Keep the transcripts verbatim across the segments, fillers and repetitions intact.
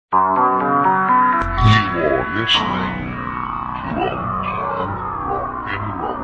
are listening to Old Time Rock and Roll.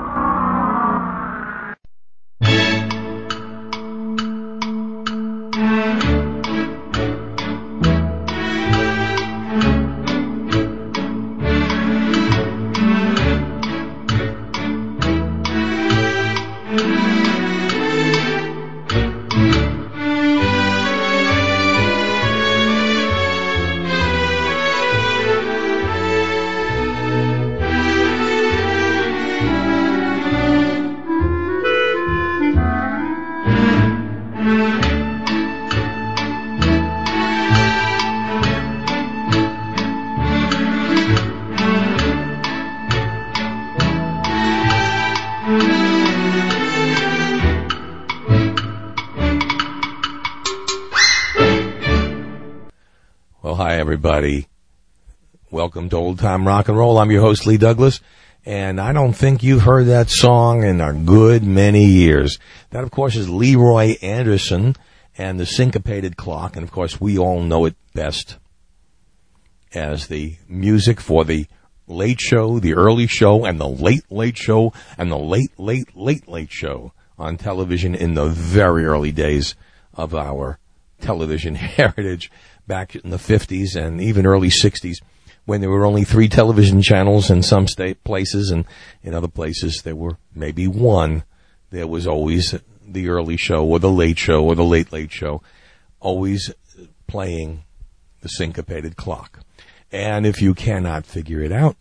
Everybody, welcome to Old Time Rock and Roll. I'm your host, Lee Douglas, and I don't think you've heard that song in a good many years. That, of course, is Leroy Anderson and the Syncopated Clock, and, of course, we all know it best as the music for the Late Show, the Early Show, and the Late Late Show, and the Late Late Late Late Show on television in the very early days of our television heritage. Back in the fifties and even early sixties, when there were only three television channels in some state places, and in other places there were maybe one. There was always the Early Show or the Late Show or the Late Late Show, always playing the Syncopated Clock. And if you cannot figure it out,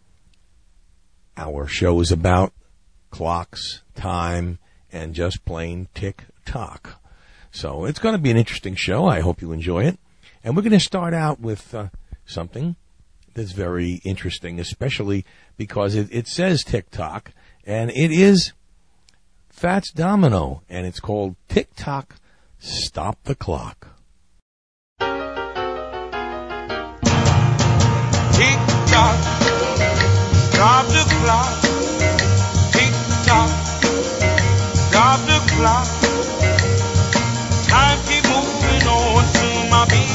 our show is about clocks, time, and just plain tick-tock. So it's going to be an interesting show. I hope you enjoy it. And we're going to start out with uh, something that's very interesting, especially because it, it says tick-tock, and it is Fats Domino, and it's called Tick-Tock, Stop the Clock. Tick-tock, stop the clock. Tick-tock, stop the clock. Time keep moving on, soon my baby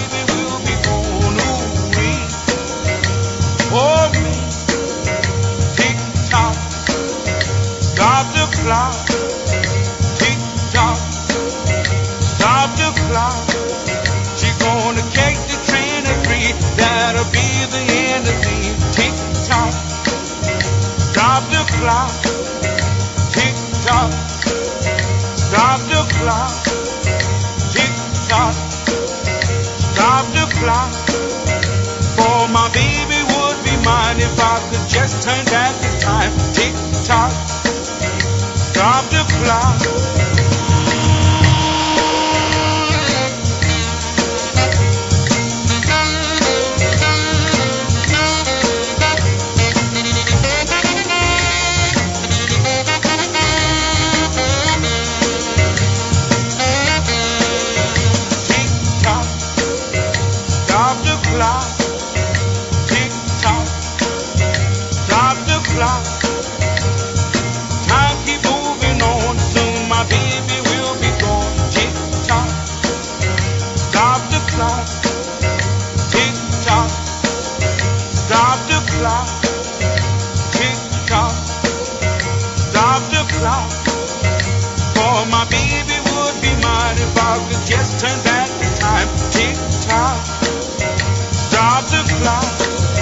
for me. Tick-tock, stop the clock. Tick-tock, stop the clock. She's gonna take the train at three, that'll be the end of me. Tick-tock, stop the clock. Tick-tock, stop the clock. Tick-tock, stop the clock. For my baby would be mine if I could just turn back the time. Tick-tock, stop the clock. Tick-tock, stop the clock. Clock. Time keep moving on, soon my baby will be gone. Tick-tock, stop the clock. Tick-tock, stop the clock. Tick-tock, stop the clock. For my baby would be mine if I could just turn back the time. Tick-tock, stop the clock.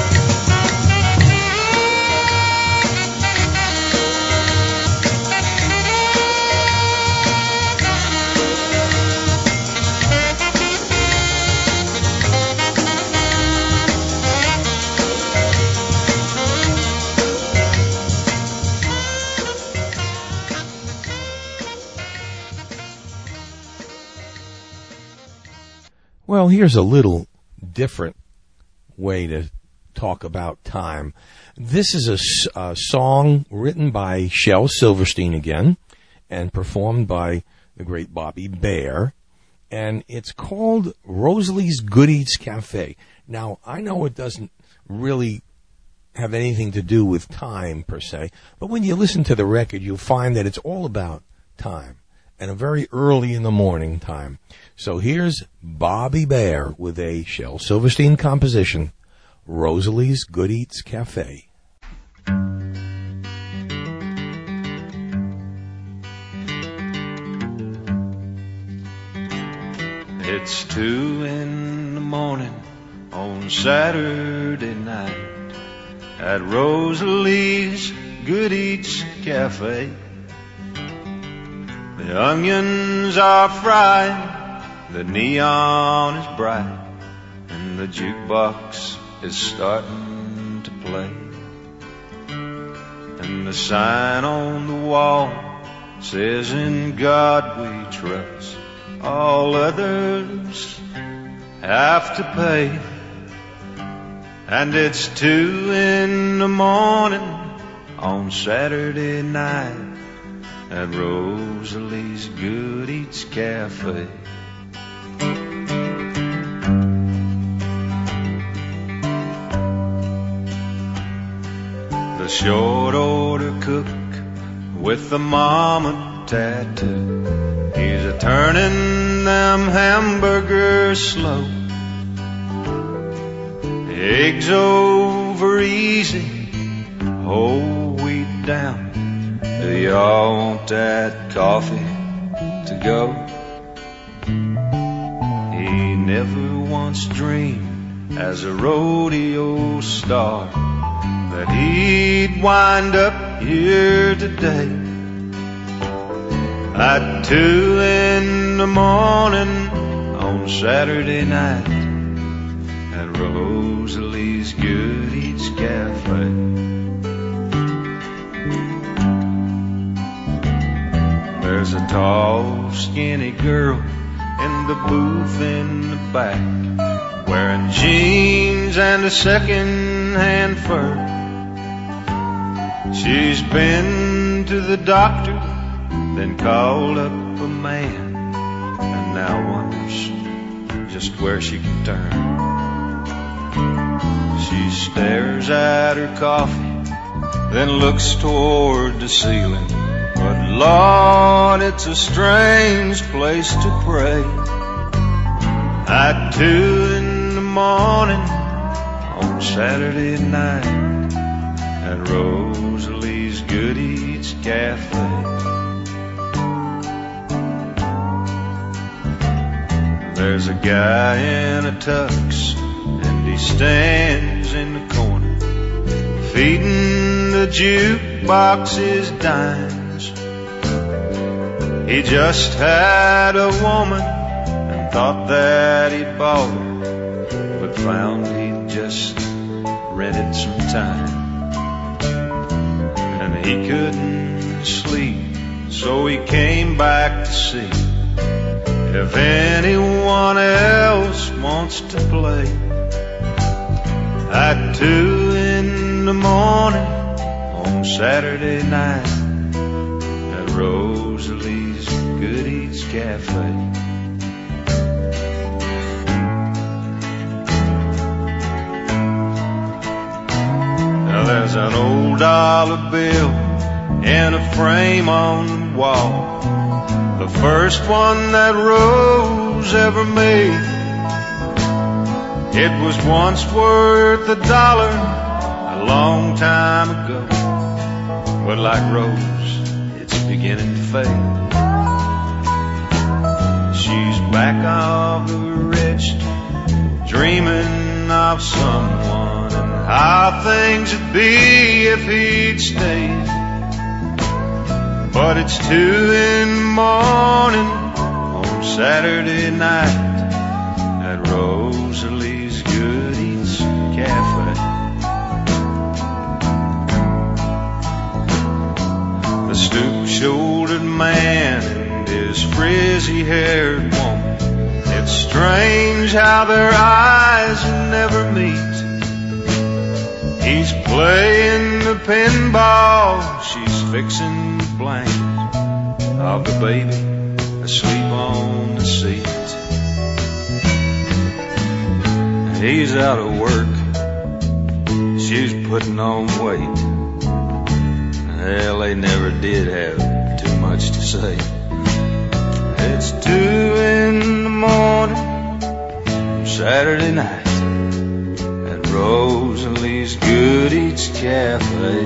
Well, here's a little different way to talk about time. This is a, a song written by Shel Silverstein again and performed by the great Bobby Bare, and it's called Rosalie's Good Eats Cafe. Now, I know it doesn't really have anything to do with time per se, but when you listen to the record, you'll find that it's all about time, and a very early in the morning time. So here's Bobby Bare with a Shel Silverstein composition, Rosalie's Good Eats Cafe. It's two in the morning on Saturday night at Rosalie's Good Eats Cafe. The onions are fried, the neon is bright, and the jukebox is starting to play. And the sign on the wall says, "In God we trust, all others have to pay." And it's two in the morning on Saturday night at Rosalie's Good Eats Cafe. The short order cook with the mama tattoo, he's a turning them hamburgers slow. Eggs over easy, whole wheat down. Do y'all want that coffee to go? He never once dreamed as a rodeo star that he'd wind up here today. At two in the morning on Saturday night at Rosalie's Good Eats Cafe. There's a tall, skinny girl in the booth in the back, wearing jeans and a second-hand fur. She's been to the doctor, then called up a man, and now wonders just where she can turn. She stares at her coffee, then looks toward the ceiling. But Lord, it's a strange place to pray. At two in the morning on Saturday night at Rosalie's Good Eats Cafe. There's a guy in a tux, and he stands in the corner, feeding the jukebox his dimes. He just had a woman and thought that he'd bought her, but found he'd just rented some time. And he couldn't sleep, so he came back to see if anyone else wants to play. At two in the morning on Saturday night at Rosalie's Good Eats Cafe. Now there's an old dollar bill in a frame on the wall, the first one that Rose ever made. It was once worth a dollar a long time ago, but like Rose, it's beginning to fade. She's back of the register, dreaming of someone and how things would be if he'd stayed. But it's two in the morning on Saturday night at Rosalie's Good Eats Cafe. The stoop-shouldered man and his frizzy-haired woman, it's strange how their eyes never meet. He's playing the pinball, she's fixing the blanket of the baby asleep on the seat. He's out of work, she's putting on weight. Hell, they never did have too much to say. It's two in the morning, Saturday night, at Rosalie's Good Eats Cafe.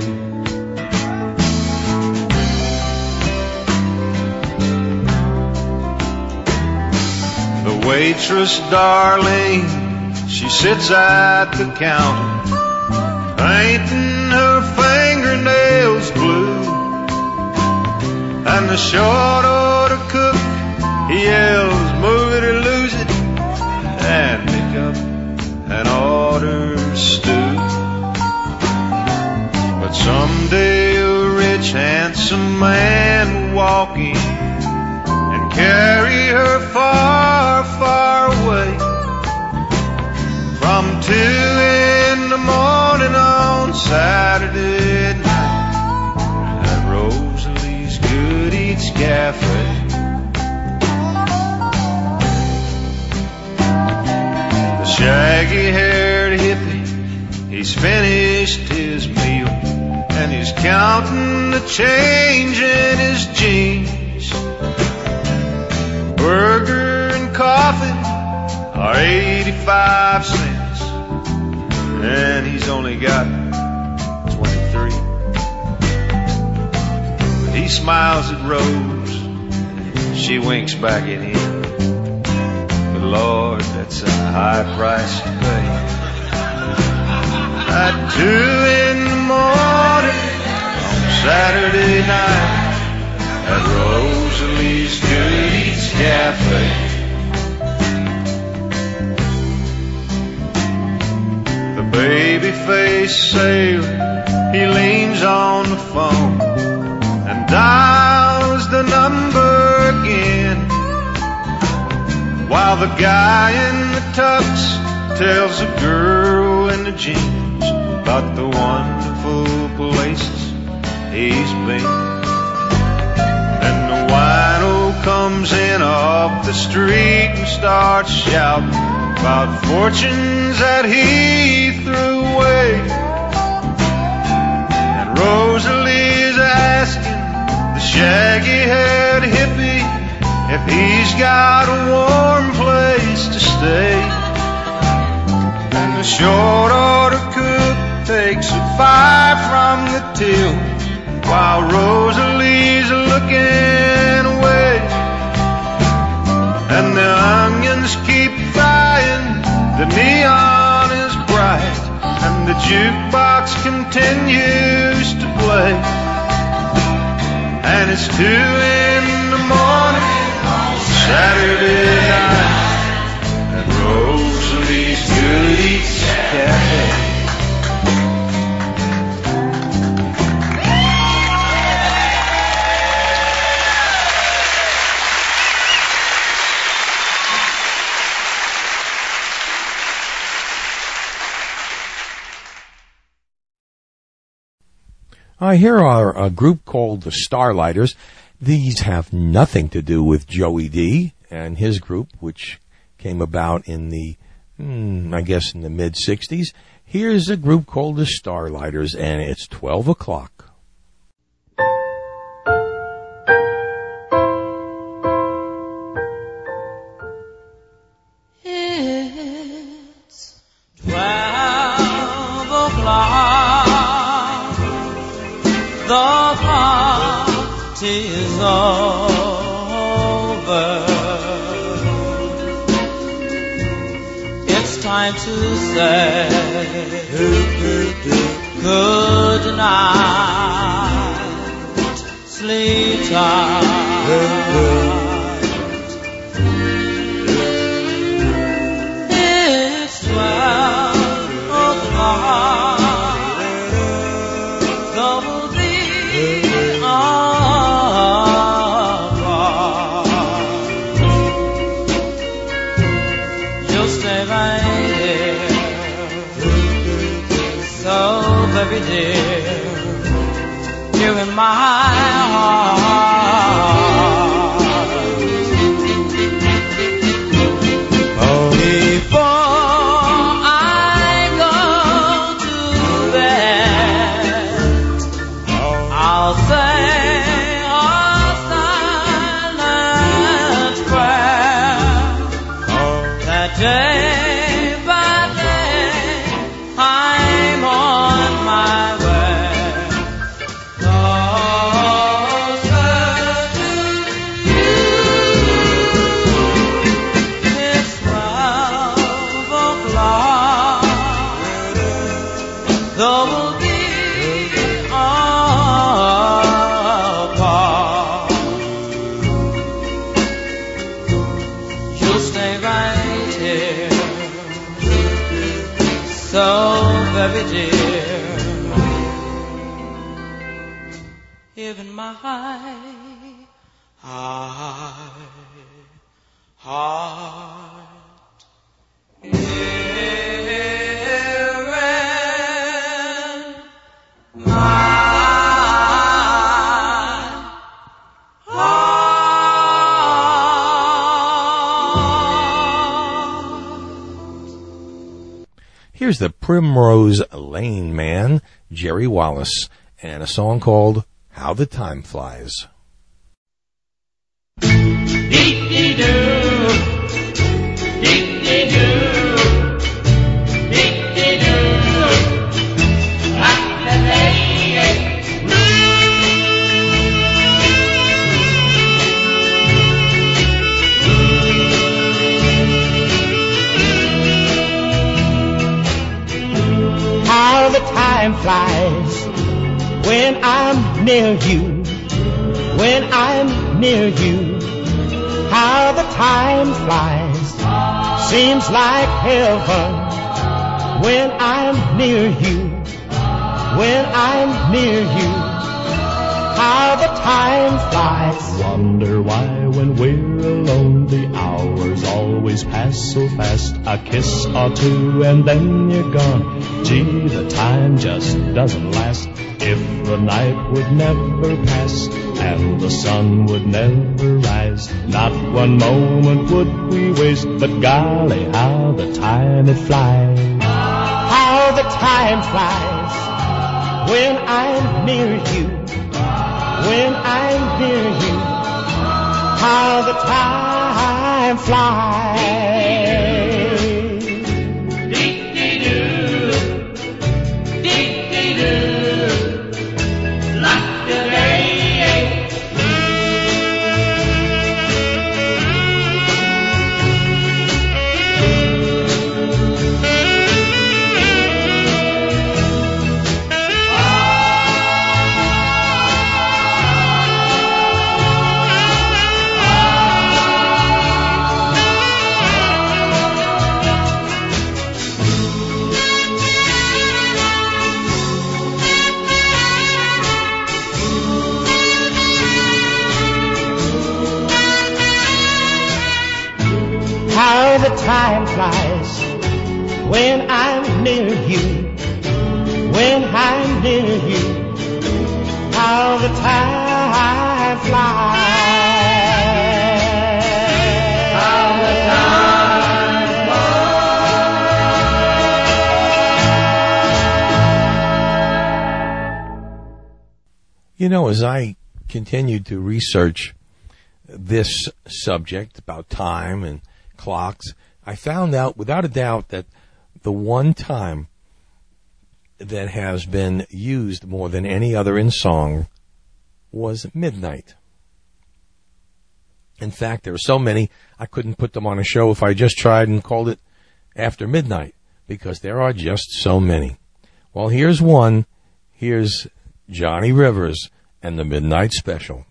The waitress, Darlene, she sits at the counter, painting her fingernails blue. And the short order cook, he yells, move it or lose it, and pick up an order stew. But someday a rich, handsome man will walk in and carry her far, far away. From two in the morning on Saturday night at Rosalie's Good Eats Cafe. The shaggy-haired hippie, he's finished his meal, and he's counting the change in his jeans. Burger and coffee are eighty-five cents, and he's only got twenty-three. But he smiles at Rose, she winks back at him. But Lord, that's a high price to pay. At two in the morning on Saturday night at Rosalie's Good Eats Cafe. Baby-faced sailor, he leans on the phone and dials the number again, while the guy in the tux tells the girl in the jeans about the wonderful places he's been. And the wino comes in off the street and starts shouting about fortunes that he threw away. And Rosalie's asking the shaggy-haired hippie if he's got a warm place to stay. And the short-order cook takes a five from the till, while Rosalie's looking away. And the onions keep frying, the neon is bright, and the jukebox continues to play. And it's two in the morning on Saturday night at Rosalie's Good Eats Cafe. Uh, here are a group called the Starlighters. These have nothing to do with Joey D and his group, which came about in the, hmm, I guess, in the mid-sixties. Here's a group called the Starlighters, and it's twelve o'clock. It's twelve o'clock. The party's over. It's time to say good night. Sleep tight. It's twelve o'clock. Baby dear, you're in my heart. Oh, before I go to bed, I'll say a silent though we'll be apart, you'll stay right here, so very dear. Even my heart, heart, here in my heart. Here's the Primrose Lane Man, Jerry Wallace, and a song called How the Time Flies. Dee-dee-doo, dee-dee-doo, dee-dee-doo, like the lady. How the time flies when I'm near you, when I'm near you. How the time flies, seems like heaven when I'm near you, when I'm near you. How the time flies. Wonder why when we're alone the hours always pass so fast. A kiss or two and then you're gone. Gee, the time just doesn't last. If the night would never pass and the sun would never rise, not one moment would we waste. But golly, how the time it flies. How the time flies when I'm near you, when I'm near you. How the time flies. How the time flies when I'm near you, when I'm near you. How the time flies. How the time flies. You know, as I continued to research this subject about time and clocks, I found out without a doubt that the one time that has been used more than any other in song was midnight. In fact, there are so many, I couldn't put them on a show if I just tried and called it After Midnight, because there are just so many. Well, here's one. Here's Johnny Rivers and the Midnight Special.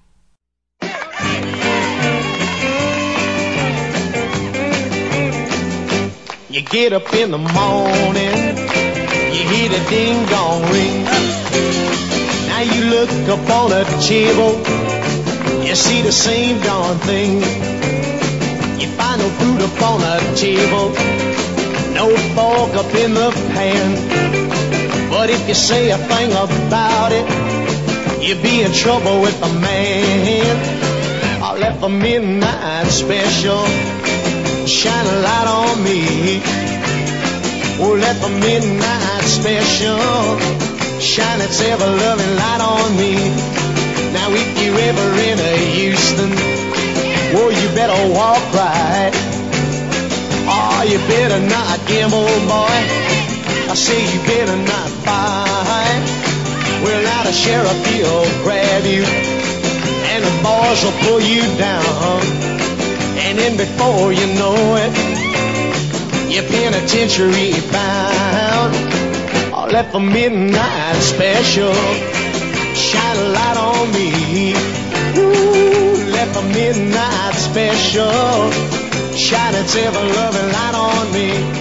You get up in the morning, you hear the ding-dong ring. Now you look up on the table, you see the same darn thing. You find no food up on the table, no fork up in the pan. But if you say a thing about it, you'll be in trouble with the man. I left the midnight special shine a light on me. Oh, let the midnight special shine its ever-loving light on me. Now if you're ever in a Houston, oh, you better walk right. Oh, you better not gamble, boy. I say you better not fight. Well, now the sheriff, he'll grab you, and the boys will pull you down. And then before you know it, you're penitentiary bound. Oh, let the midnight special shine a light on me. Ooh, let the midnight special shine its ever-loving light on me.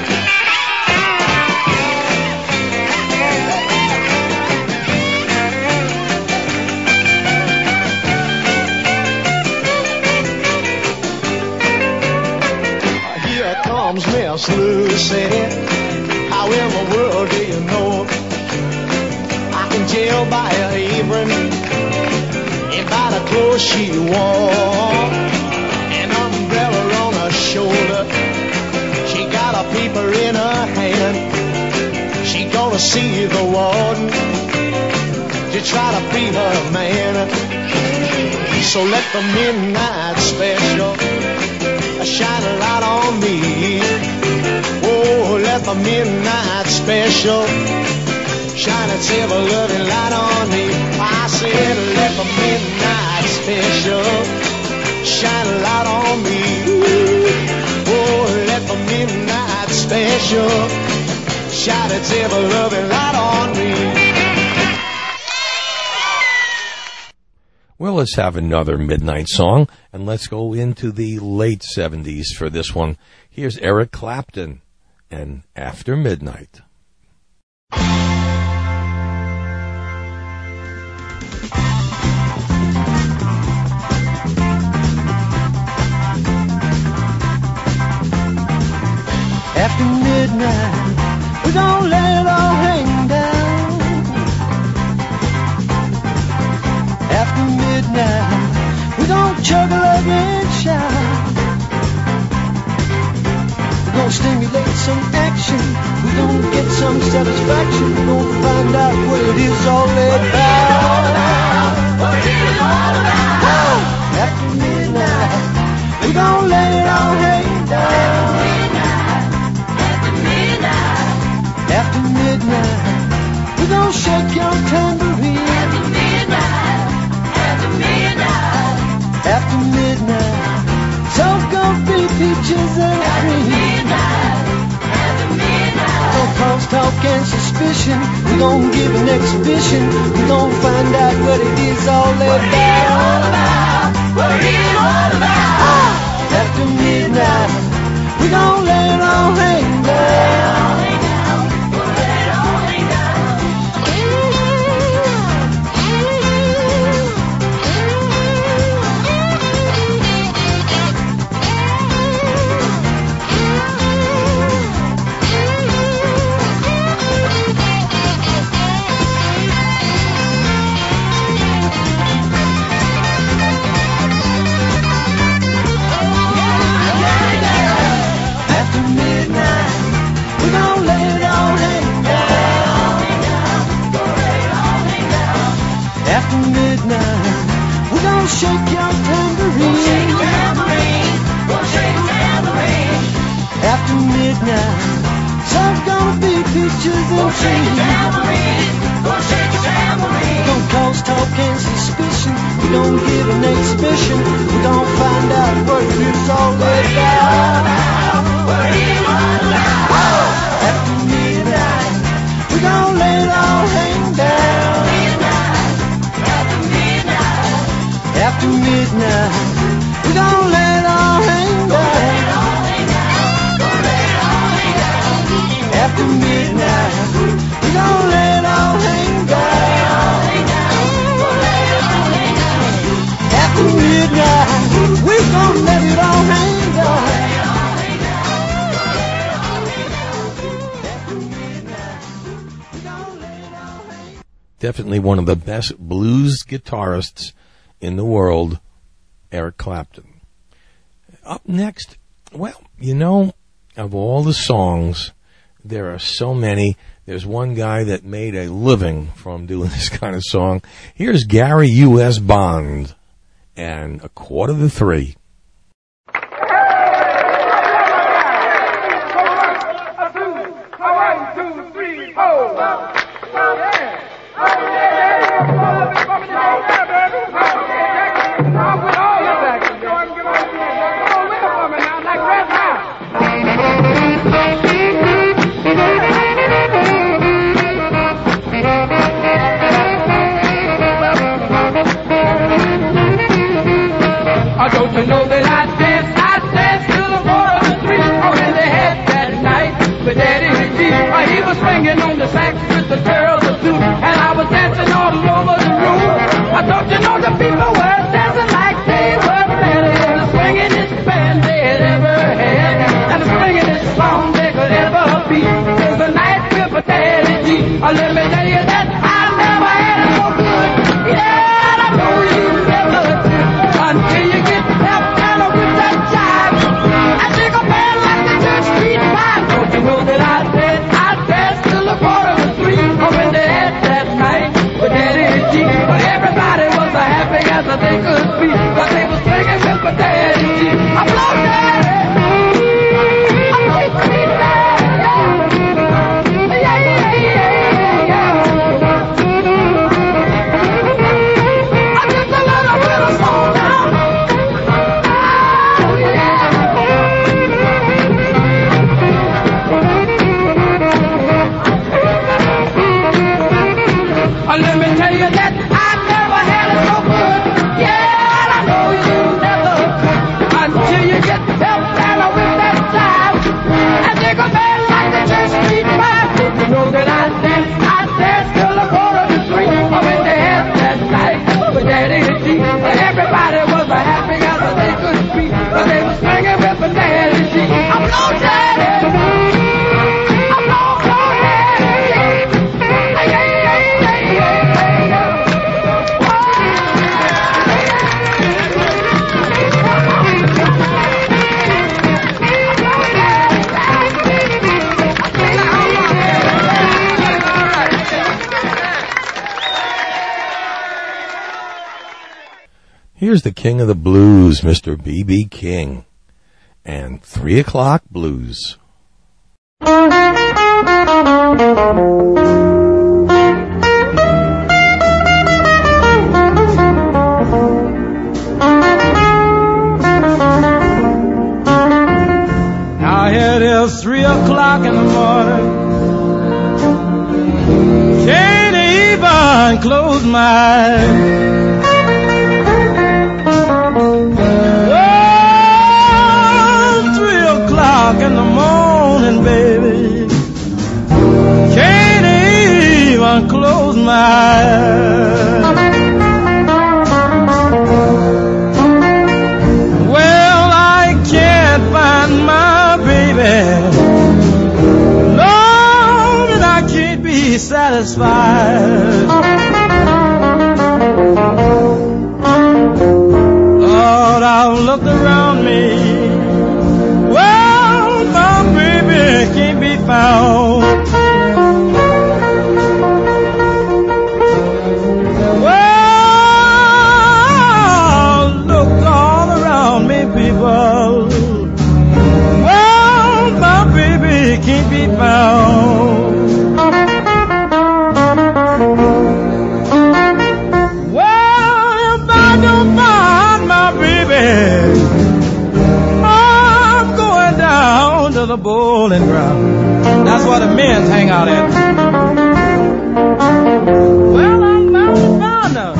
Miss Lucy, how in the world do you know I can tell by her apron and by the clothes she wore, an umbrella on her shoulder, she got a paper in her hand, she gonna see the warden to try to free her man. So let the midnight special shine a light on me. Oh, let the midnight special shine its ever-loving light on me. I said, let the midnight special shine a light on me. Oh, let the midnight special shine its ever-loving light on me. Well, let's have another midnight song, and let's go into the late seventies for this one. Here's Eric Clapton and After Midnight. After midnight, we're gonna let it all hang down. After midnight, we're gonna chug a lug and shout. We're gonna stimulate some action. We're gonna get some satisfaction. We're gonna find out what it is all about. What it is all about. Oh, after midnight, we're gonna let it all hang down. After midnight, after midnight, we're gonna shake your tambourine. After midnight, after midnight, after midnight, so gonna be peaches and cream. After midnight, no cause, talk, and suspicion. We're gonna give an exhibition. We're gonna find out what it is all about. What it is all about. Ah, after midnight, we're gonna let it all hang down. Shake your tambourine. We'll shake your tambourine. We'll shake your tambourine. After midnight, so's gonna be peaches and we'll shake your tambourine. We'll shake your tambourine. Don't cause talk and suspicion. We don't give an exhibition. We don't find out what it is all about. What it is all about. After midnight, we gonna let it all hang down. After midnight, we're gonna let it all hang down. After midnight, we're gonna let it all hang down. After midnight, we're gonna let it all hang down. Definitely one of the best blues guitarists in the world, Eric Clapton. Up next, well, you know, of all the songs, there are so many. There's one guy that made a living from doing this kind of song. Here's Gary U S Bond and A Quarter to Three. One, two, three, four. Like Here's the king of the blues, Mister B B King, and Three O'Clock Blues. Now here it is, three o'clock in the morning. Can't even close my eyes. In the morning, baby, can't even close my eyes. Well, I can't find my baby, Lord, and I can't be satisfied. Lord, I've looked around me, can't be found. Well, look all around me, people. Well, my baby can't be found. Well, if I don't find my baby, to the bowling ground. That's where the men hang out at. Well, I'm bound to find her.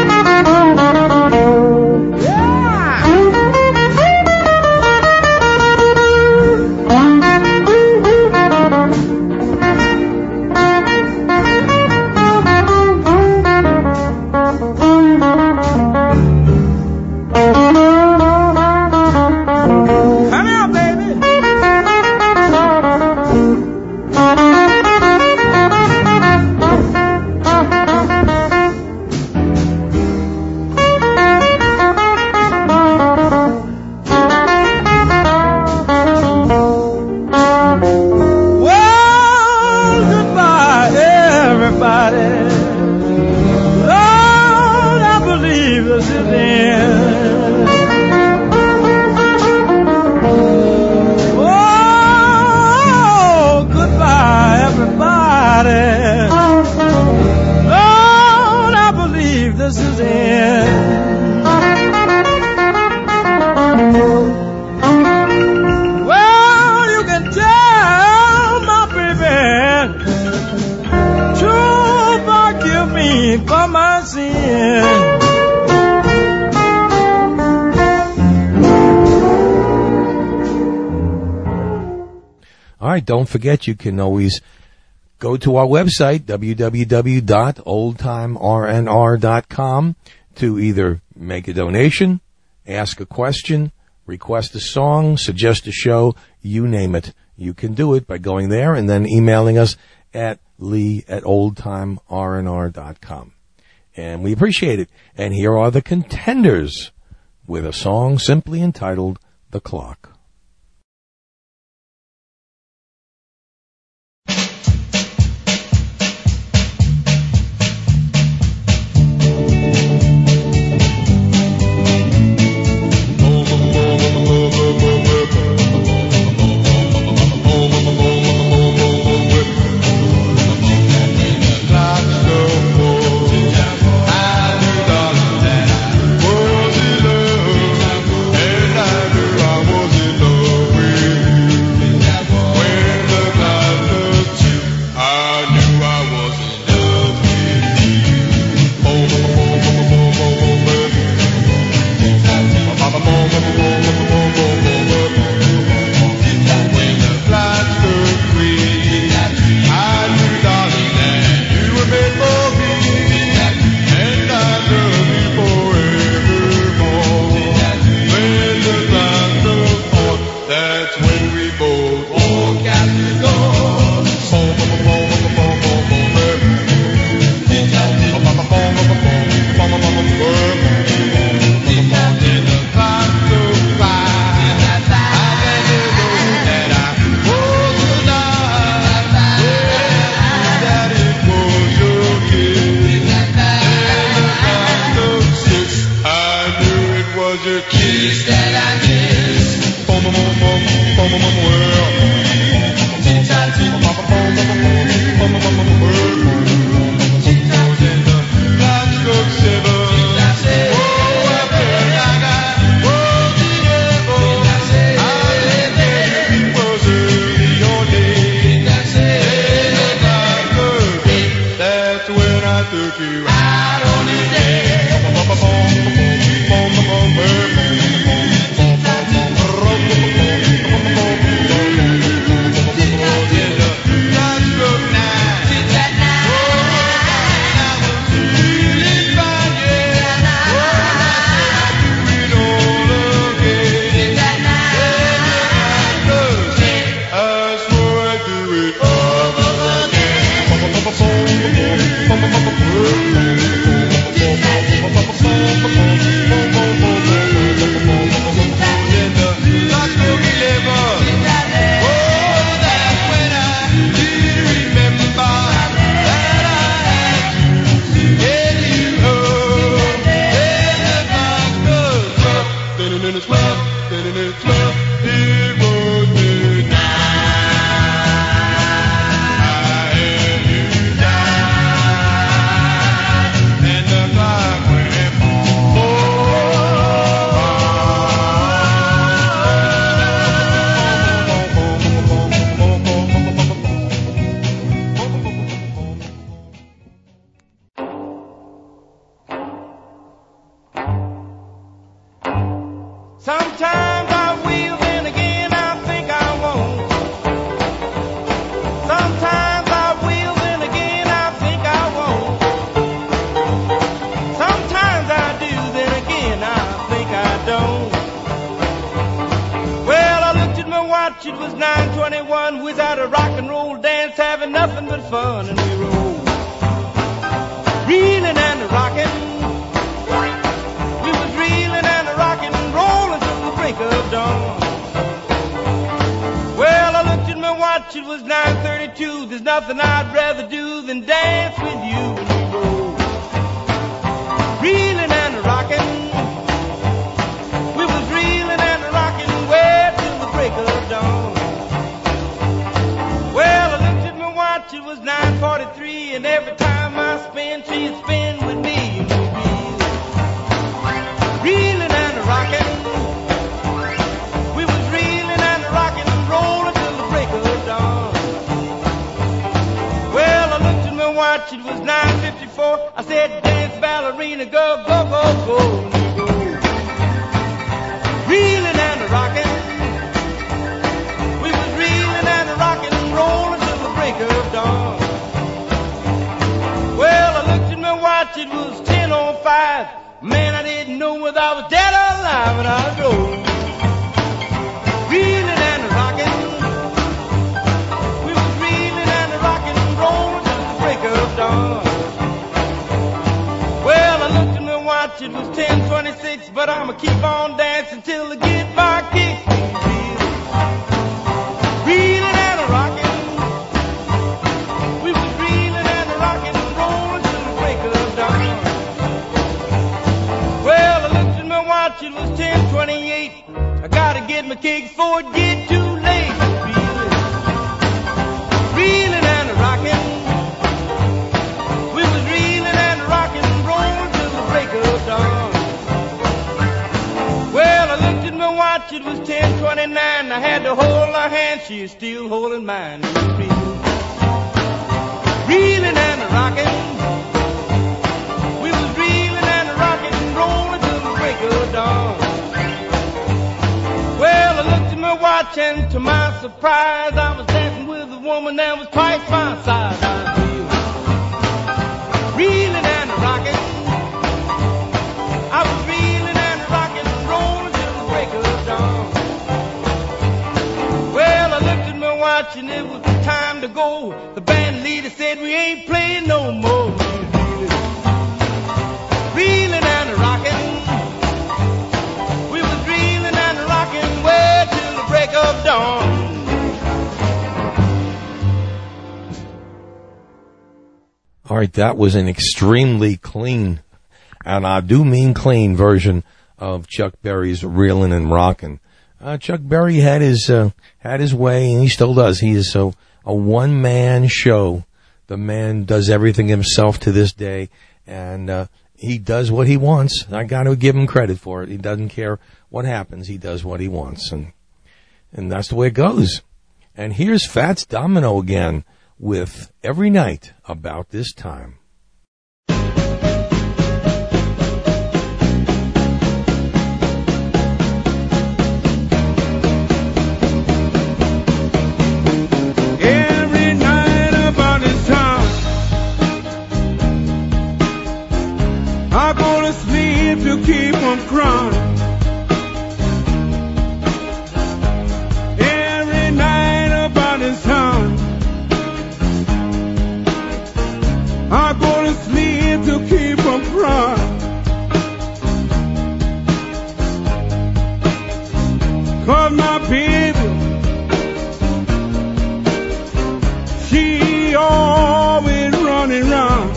Don't forget, you can always go to our website, w w w dot old time r n r dot com, to either make a donation, ask a question, request a song, suggest a show, you name it. You can do it by going there and then emailing us at lee at old time r n r dot com. And we appreciate it. And here are the Contenders with a song simply entitled The Clock. Was it love? And I knew I was in took you out on a date. Sometimes I will, then again I think I won't. Sometimes I will, then again I think I won't. Sometimes I do, then again I think I don't. Well, I looked at my watch, it was nine twenty-one. We was at a rock and roll dance, having nothing but fun, and we rolled, reeling and rocking. We was reeling and rocking, rolling till the break of dawn. Well, I looked at my watch, it was nine thirty-two. There's nothing I'd rather do than dance with you when we roll, reeling and rocking. We was reeling and rocking way till the break of dawn. Well, I looked at my watch, it was nine forty-three, and every time I spin, she'd spin with me. And we reeling and rocking. We was reeling and rocking, rolling till the break of dawn. Well, I looked at my watch, it was nine fifty-four. I said, dance, ballerina, go, go, go, go. And we go, reeling and rocking. We was reeling and rocking, rolling till the break of dawn. Well, I looked at my watch, it was ten oh five. Man, I didn't know whether I was dead or alive, and I go, reeling and rocking. We was reeling and rocking, rolling till the break of dawn. Well, I looked at my watch, it was ten twenty-six, but I'ma keep on dancing till the guitar kicks me. Reeling and rocking. We was reeling and rocking, rolling till the break of dawn. Well, I looked at my watch, it was ten twenty-eight. I gotta get my kicks before it get too late. Reeling, reeling and rocking. We was reeling and rocking, rolling till the break of dawn. Well, I looked at my watch, it was ten twenty-nine. I had to hold her hand, she is still holding mine. We was reeling, reeling and rocking. We was reeling and rocking, rolling till the break of dawn. Well, I looked at my watch, and to my surprise, I was dancing with a woman that was twice my size. I was reeling and rocking. I was reeling and rocking, rolling till the break of dawn. Well, I looked at my watch, and it was time to go. The band leader said we ain't playing no more. Reeling and rocking. We was reeling and rocking way till the break of dawn. All right, that was an extremely clean, and I do mean clean, version of Chuck Berry's "Reelin' and Rockin'." Uh, Chuck Berry had his uh, had his way, and he still does. He is so a one man show. The man does everything himself to this day, and uh, he does what he wants. I got to give him credit for it. He doesn't care what happens. He does what he wants, and and that's the way it goes. And here's Fats Domino again with "Every Night About This Time." to keep from crying. Cause my baby, she always running round.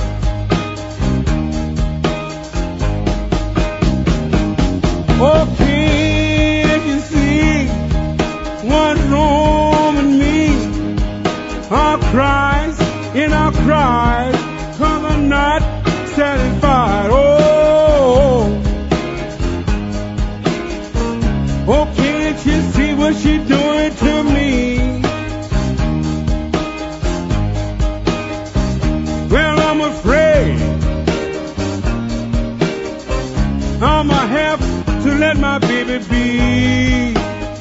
Oh, can't you see what's wrong with me? I cries and I cries cause I'm not satisfied. Oh, oh, can't you see what she's doing to me? Well, I'm afraid I'ma have to let my baby be.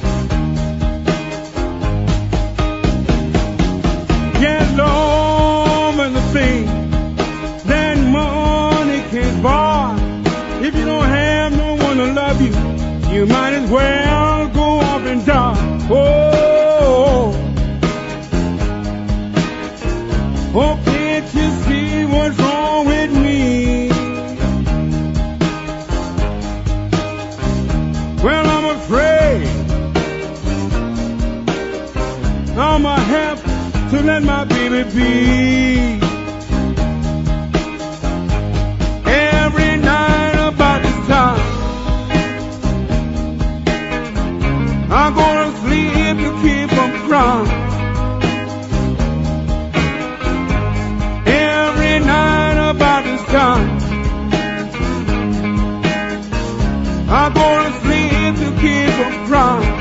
Get long as the thing that money can't buy. If you don't have no one to love you, you might as well go off and die. Oh, oh, can't you see what's wrong with me? Well, I'm afraid I'ma have to let my baby be. Every night about this time I'm gonna sleep to keep from crying. Every night about this time I'm gonna sleep to keep from crying.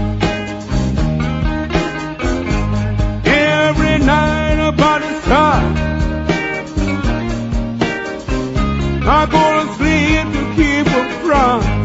Every night about this time I'm gonna sleep to keep from crying.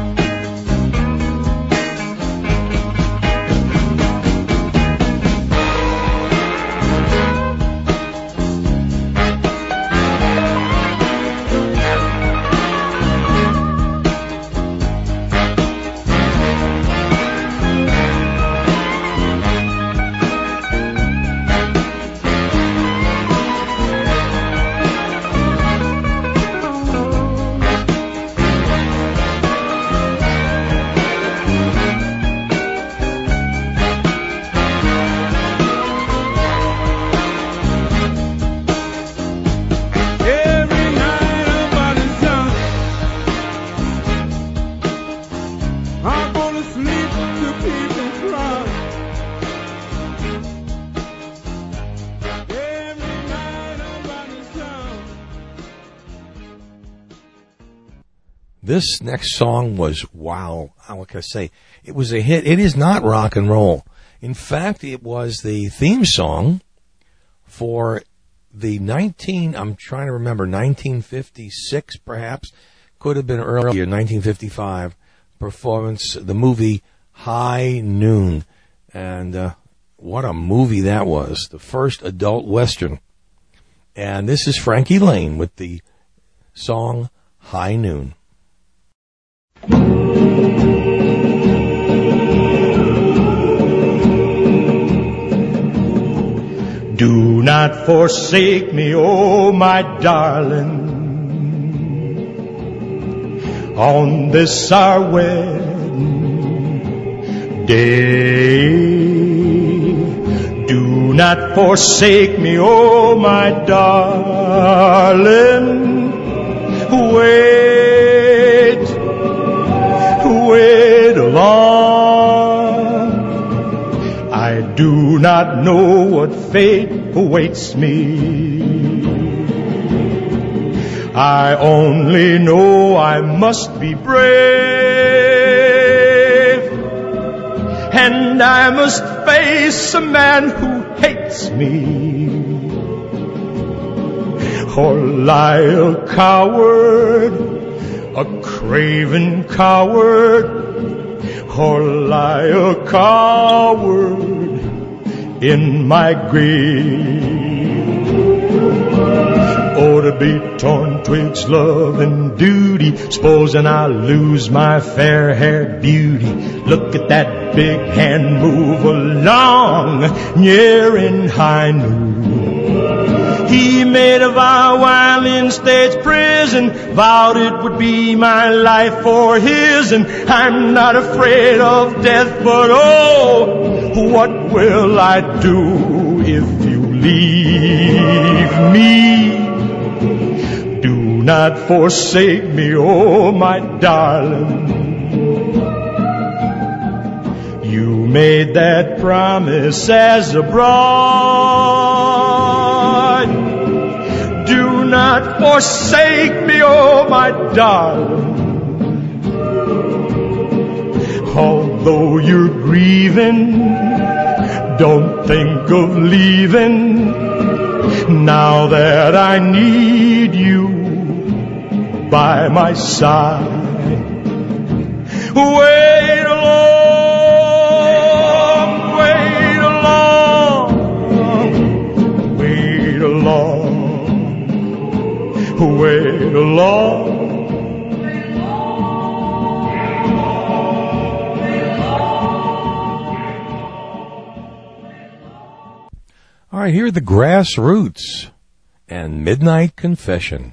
This next song was, wow, what can I say? It was a hit. It is not rock and roll. In fact, it was the theme song for the nineteen, I'm trying to remember, nineteen fifty-six perhaps, could have been earlier, nineteen fifty-five, performance, the movie High Noon. And uh, what a movie that was, the first adult Western. And this is Frankie Laine with the song High Noon. Do not forsake me, oh my darling, on this our wedding day. Do not forsake me, oh my darling. Wait, wait long. I do not know what fate awaits me. I only know I must be brave, and I must face a man who hates me, or lie a coward, a craven coward, or lie a coward in my grave. Oh, to be torn twixt love and duty, supposing I lose my fair-haired beauty. Look at that big hand move along, near in high noon. He made a vow while in state's prison, vowed it would be my life for his, and I'm not afraid of death, but oh, what will I do if you leave me? Do not forsake me, oh my darling. You made that promise as a bride. Do not forsake me, oh my darling. Although you're grieving, don't think of leaving. Now that I need you by my side. Wait along, wait along, wait along, wait along. All right, here are the Grassroots and Midnight Confession.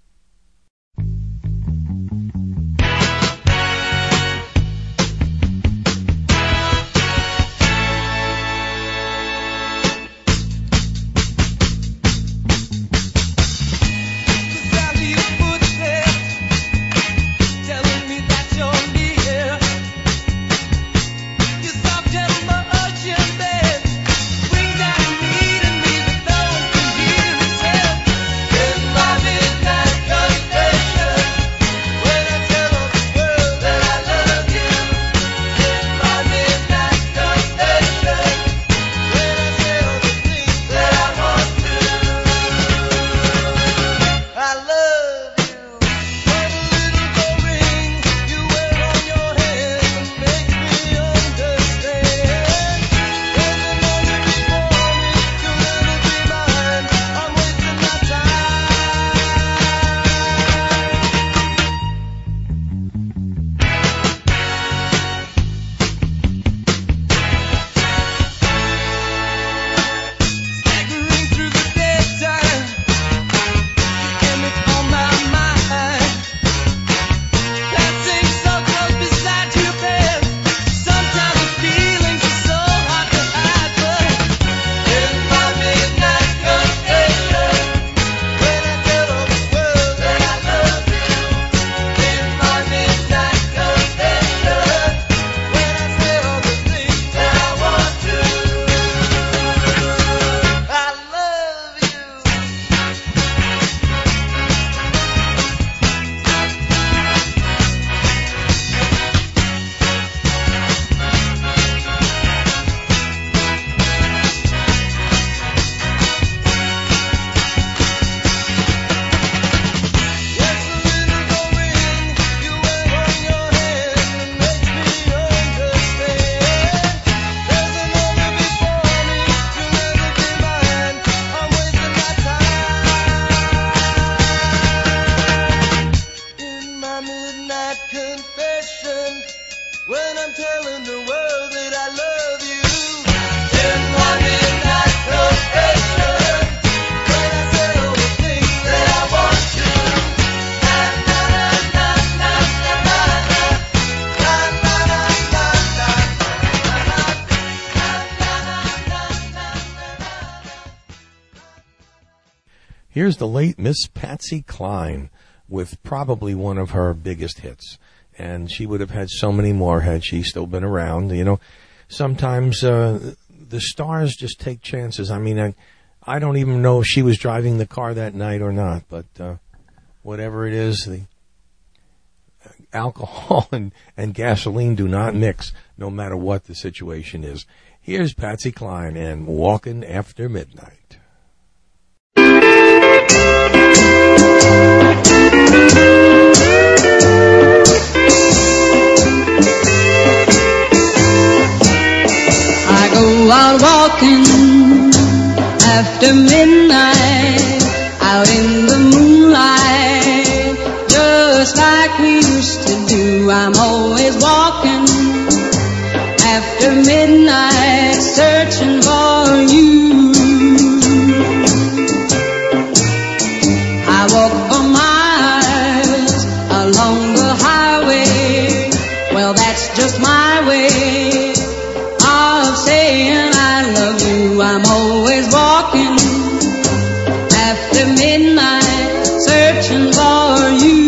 Here's the late Miss Patsy Cline with probably one of her biggest hits. And she would have had so many more had she still been around. You know, sometimes uh, the stars just take chances. I mean, I, I don't even know if she was driving the car that night or not. But uh, whatever it is, the alcohol and, and gasoline do not mix, no matter what the situation is. Here's Patsy Cline and Walking After Midnight. I go out walking after midnight, out in the moonlight, just like we used to do. I'm always walking after midnight, searching for you. I walk after midnight, searching for you.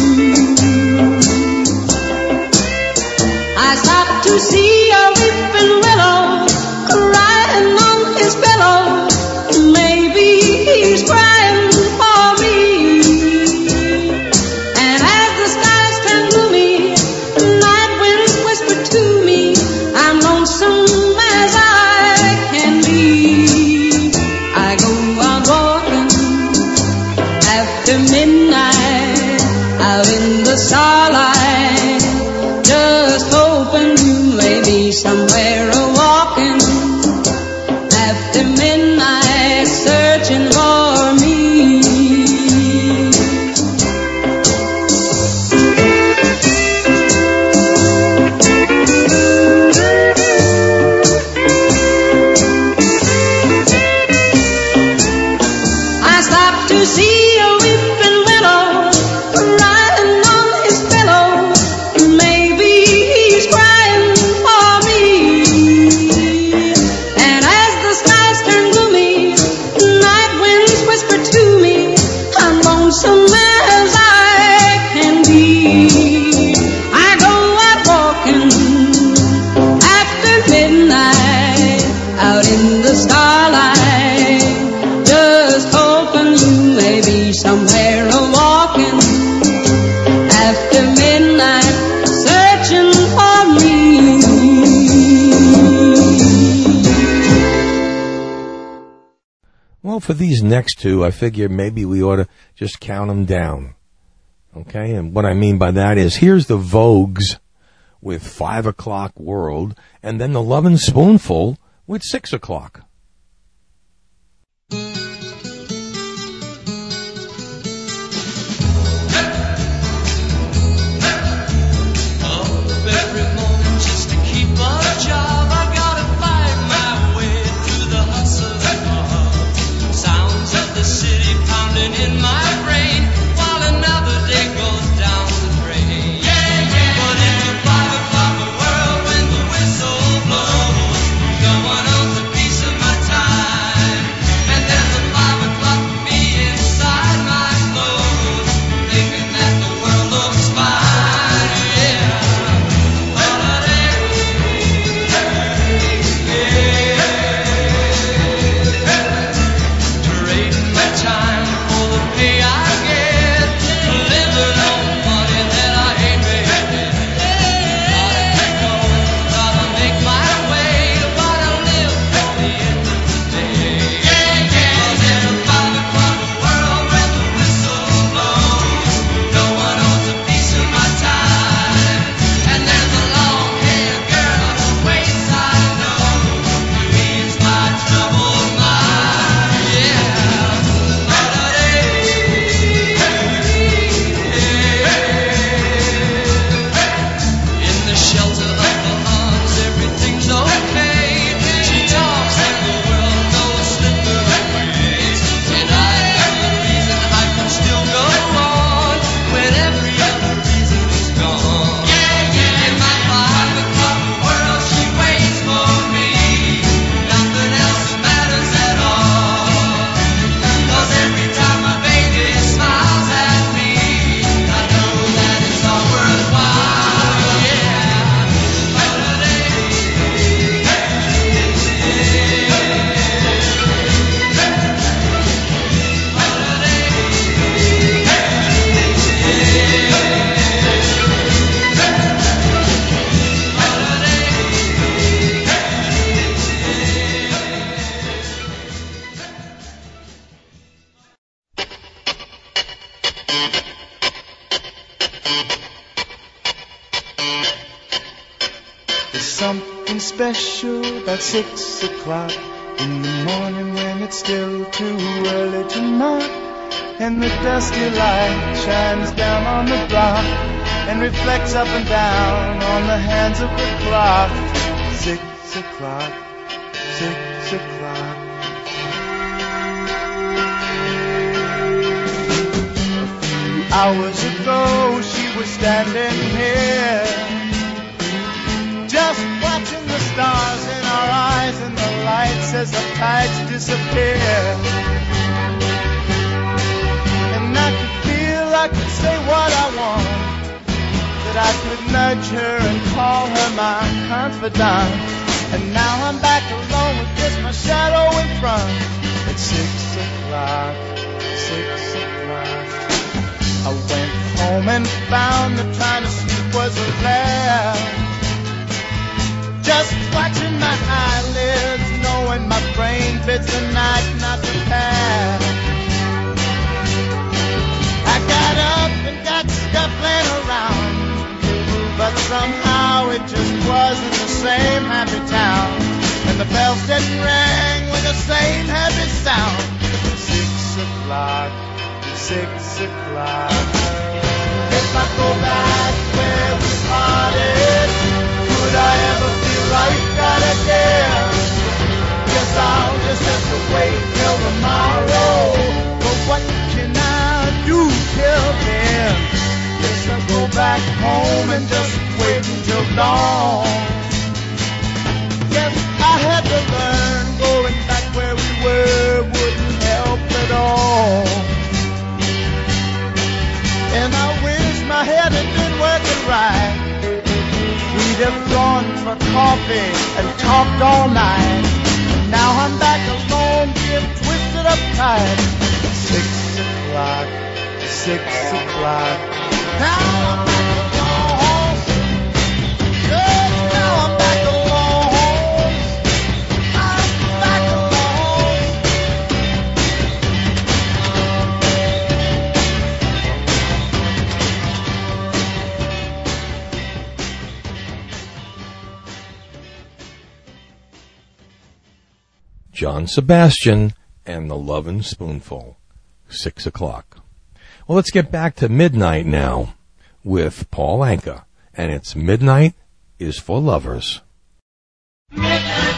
I stopped to see a weeping willow crying on his pillow. Maybe he's crying for me. And as the skies turn gloomy, night winds whisper to me, I'm lonesome as I can be. I go out walking after midnight, out in the starlight, just hoping you may be somewhere a walking after midnight, searching for me. I stopped to see a weeping willow crying on his pillow. Maybe he's crying for me. And as the skies turn gloomy, night winds whisper to me, I'm lonesome as I can be. I go out walking after midnight, out in the starlight, just hoping you may be somewhere a walking after midnight, searching for me. Well, for these next two, I figure maybe we ought to just count them down. Okay, and what I mean by that is, here's the Vogues with Five O'Clock World, and then the Lovin' Spoonful with Six O'Clock. Every moment just to keep a job, I gotta fight my way through the hustle and bustle. Sounds of the city pounding in my brain while another day goes down the drain. But it's a five o'clock world when the whistle blows. No one owns a piece of my time, and there's a five o'clock me inside my clothes, thinking that the world looks fine. Yeah. Trading my time for the pay I get, living on money that I ain't made. Gotta keep going, gotta make my way, but I live for the end of the day. 'Cause in a five o'clock world when the whistle blows, no one owns a piece of my time, and there's a long-haired girl who waits I know, who ease my troubled mind. Yeah. In the shelter of the arms, everything's okay. She talks and the world knows slip her away. And I am the reason I can still go on when every other reason is gone. In my five o'clock world, she waits for me. Nothing else matters at all. 'Cause every time my baby smiles at me, I know that it's all worthwhile. Yeah. There's something special about six o'clock in the morning when it's still too early to knock, and the dusty light shines down on the block and reflects up and down on the hands of the clock. Six o'clock, six o'clock. A few hours ago she was standing here, just watching the stars in our eyes and the lights as the tides disappear. I could nudge her and call her my confidant. And now I'm back alone with just my shadow in front. It's six o'clock, six o'clock. I went home and found that trying to sleep was a laugh. Just watching my eyelids, knowing my brain bids the night not to pass. I got up and got scuffling around, but somehow it just wasn't the same happy town. And the bells didn't ring with the same happy sound. Six o'clock, six o'clock. If I go back where we parted, could I ever feel like that again? Guess I'll just have to wait till tomorrow. But what can I do till then? Guess I'll go back home and just wait until dawn. Yes, I had to learn going back where we were wouldn't help at all. And I wish my head had been working right. We'd have gone for coffee and talked all night. Now I'm back alone, being twisted up tight. Six o'clock, six o'clock. Now I'm back alone. Yes, now I'm back alone. I'm back alone. John Sebastian and the Lovin' Spoonful. Six o'clock. Well, let's get back to Midnight now with Paul Anka, and it's Midnight is for Lovers. Midnight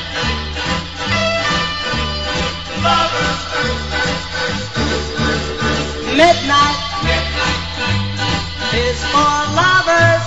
is for lovers.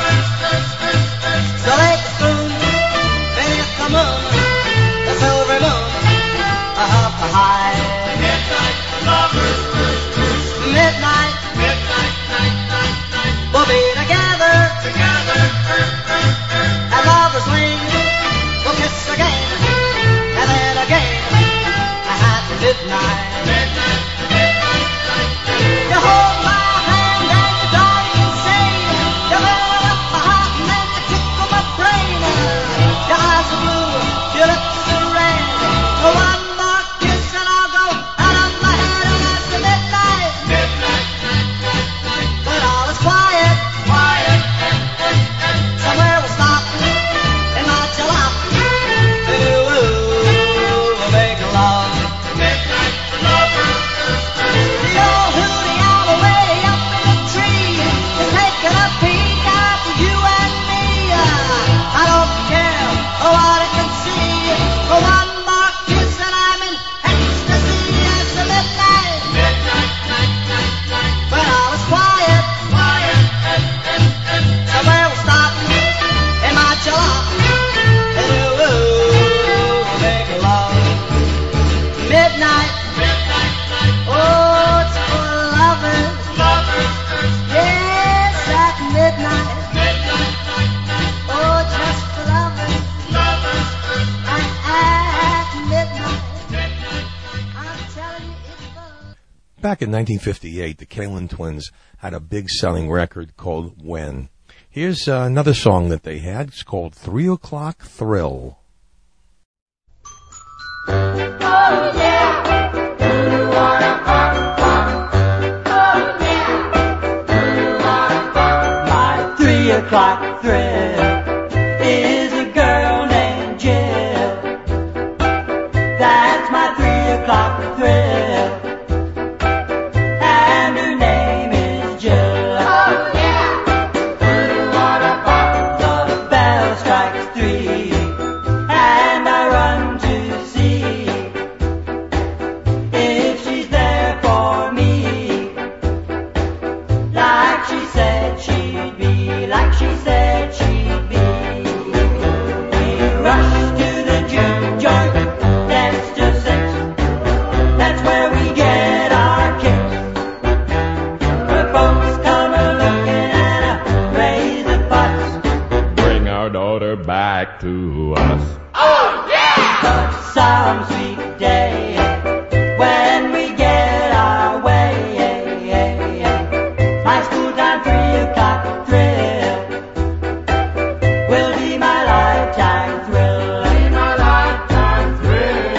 So take a spoon, beneath the moon, the silver moon, up high. Midnight lovers. Midnight, midnight, night, night, night. We'll be together, together. At lovers' lane, we'll kiss again, and then again at midnight. Midnight, midnight, night, night. You hold my hand and you darling say, you fill up my heart and then you tickle my brain. Your eyes are blue, your lips are red. One more kiss and I'll go out of my head, and that's the midnight. Midnight, when all is quiet, quiet, somewhere we'll stop and not chill out. Ooh, we'll make love. Midnight lovers. The old hootie owl way up in the tree is taking a peek after you and me. I don't care what it can see. One more kiss and I'm in ecstasy. It's the midnight. Midnight, night, night, night. When all is quiet, quiet, somewhere we'll stop and march along. And ooh, we'll make love. Midnight, midnight, night. Oh, it's for lovers, lovers. Yes, at midnight, midnight, night, night. Oh, just for lovers, lovers. And at midnight, midnight, I'm telling you it's fun. Back in nineteen fifty-eight, the Kalin Twins had a big selling record called When. Here's uh, another song that they had. It's called Three O'Clock Thrill. Oh yeah, you wanna funk, funk. Oh yeah, you wanna funk. My three o'clock thrill is a girl named Jill. That's my three o'clock thrill. And her name is Jill. Oh yeah, you wanna funk. The bell strikes three, and I run to see back to us. Oh, yeah! But some sweet day, when we get our way, my school time three o'clock thrill will be my lifetime thrill. Be my lifetime thrill.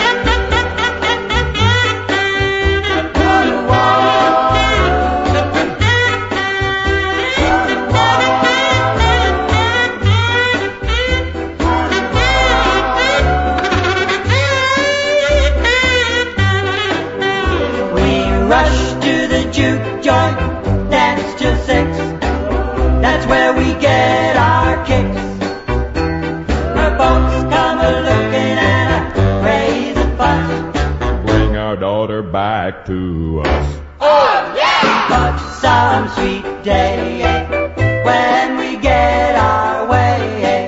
We rush to the juke joint, dance till six. That's where we get our kicks. The folks come a looking and a raise a fuss. Bring our daughter back to us. Oh yeah! But some sweet day, when we get our way,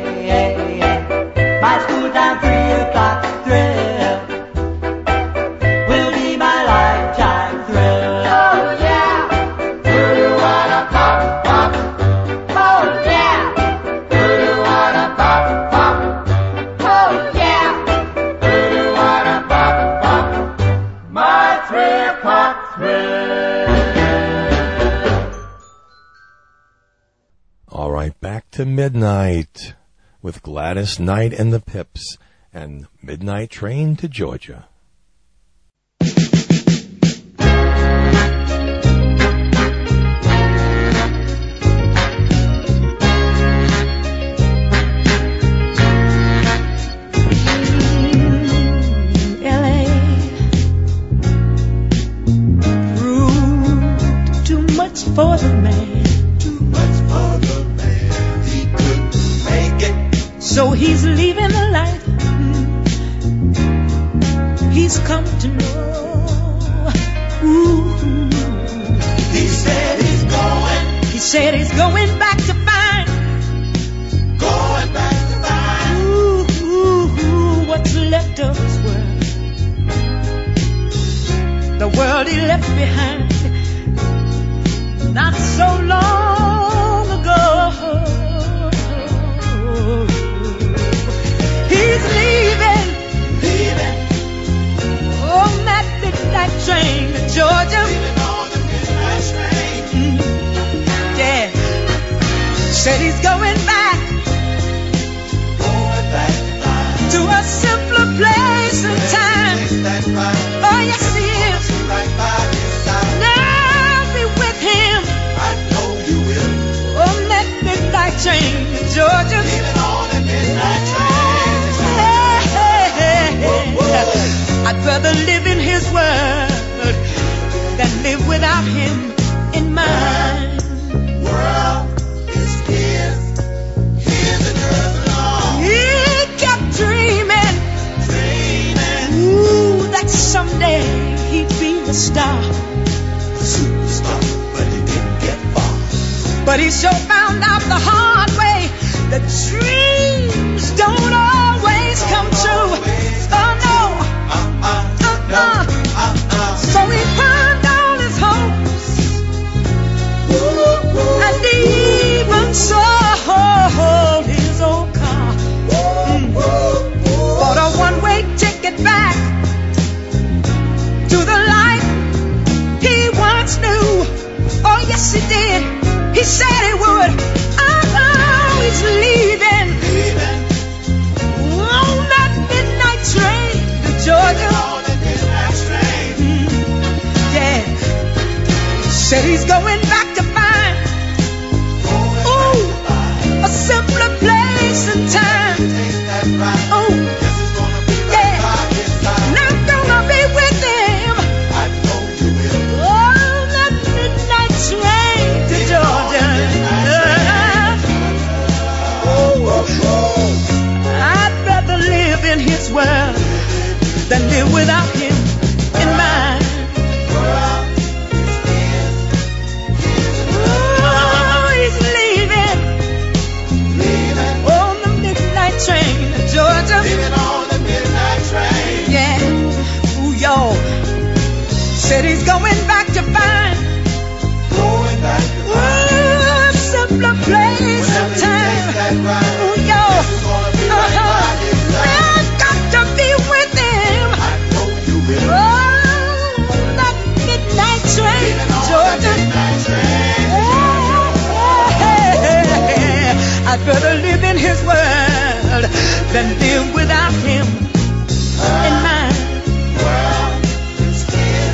my school time three o'clock thrill will be my lifetime thrill. Oh yeah! Pop, pop. Oh yeah! Pop, pop. Oh yeah! Pop, pop. My three o'clock thrill. All right, back to midnight with Gladys Knight and the Pips and Midnight Train to Georgia. L A proved too much for the man. Too much for the man. He couldn't make it. So he's leaving the life he's come to know. Ooh. He said he's going. He said he's going back to find. Going back to find. Ooh, ooh, ooh, what's left of his world. The world he left behind not so long ago. He's leaving, leaving on that midnight train to Georgia. Leaving on the midnight train. Mm, yeah. Said he's going back, going back to a simpler place and time. That's right. Oh yes he is. Right by his side. Now be with him. I know you will. On that midnight train to Georgia. Leaving on the midnight train. Hey, hey, hey, hey. I'd rather live in his world than live without him in mine. World is his, his and hers alone. He kept dreaming, dreaming. Ooh, that someday he'd be the star, superstar, but he didn't get far. But he sure found out the hard way that dreams don't always come true. Oh no, uh-uh, uh-uh. So he burned all his hopes and even sold his old car. Mm. Bought a one-way ticket back to the life he once knew. Oh yes he did. He said he would. Oh, oh he's leaving, leaving on that midnight train to Georgia. On that midnight train. Mm, yeah. Said he's going back to find, ooh, a simpler place and time. Oh, yeah. Not gonna be with him. I know you will. On that midnight train to Georgia. I'd rather live in his world than live without him in mine. Oh, he's leaving, leaving on the midnight train to Georgia. Leaving on the midnight train. Yeah, ooh, y'all. Said he's going back to find, going back to find. Ooh, a simpler place and time. Ooh, y'all. Uh-huh. I'd rather live in his world than live without him in mine. World is here.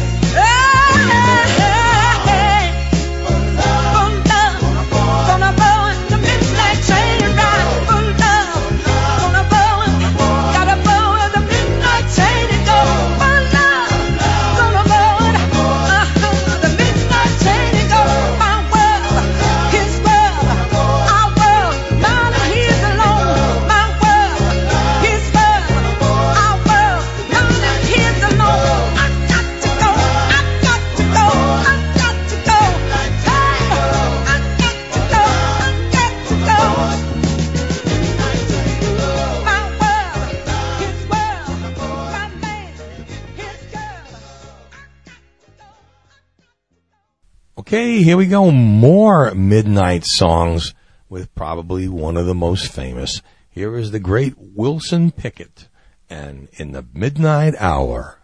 Hey, for love, gonna board the midnight train ride. For love, gonna board, gotta board the midnight train and go. For love, gonna board uh-huh, the midnight train and go. My world, his world, our world, mine and his alone. My world, his world, our world, mine and his alone. I got to go, I got to go, I got to go. Hey, I got to go, I got to go. My world, his world, my man, his girl. Okay, here we go. More midnight songs with probably one of the most famous. Here is the great Wilson Pickett and In the Midnight Hour.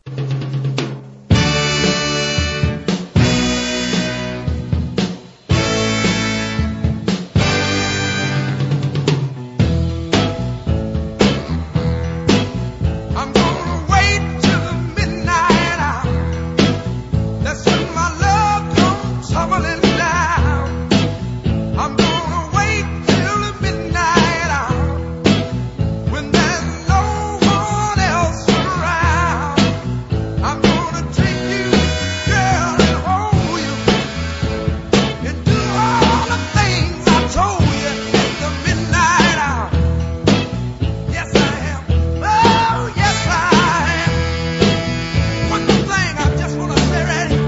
I'm gonna wait till the midnight hour. That's when my love comes tumbling down. I'm gonna wait till the midnight hour when there's no one else around. I'm gonna take you, girl, and hold you and do all the things I told you in the midnight hour. Yes, I am. Oh, yes, I am. One thing I just wanna say right here.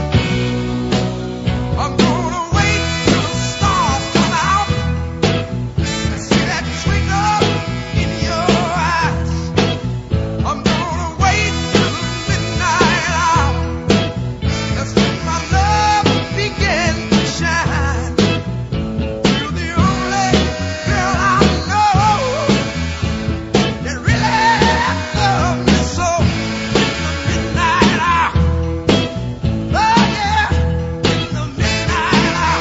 I'm gonna wait till the stars come out and see that twinkle in your eyes. I'm gonna wait till the midnight hour. That's when my love begins to shine. You're the only girl I know that really loves me so. In the midnight hour, oh yeah, in the midnight hour,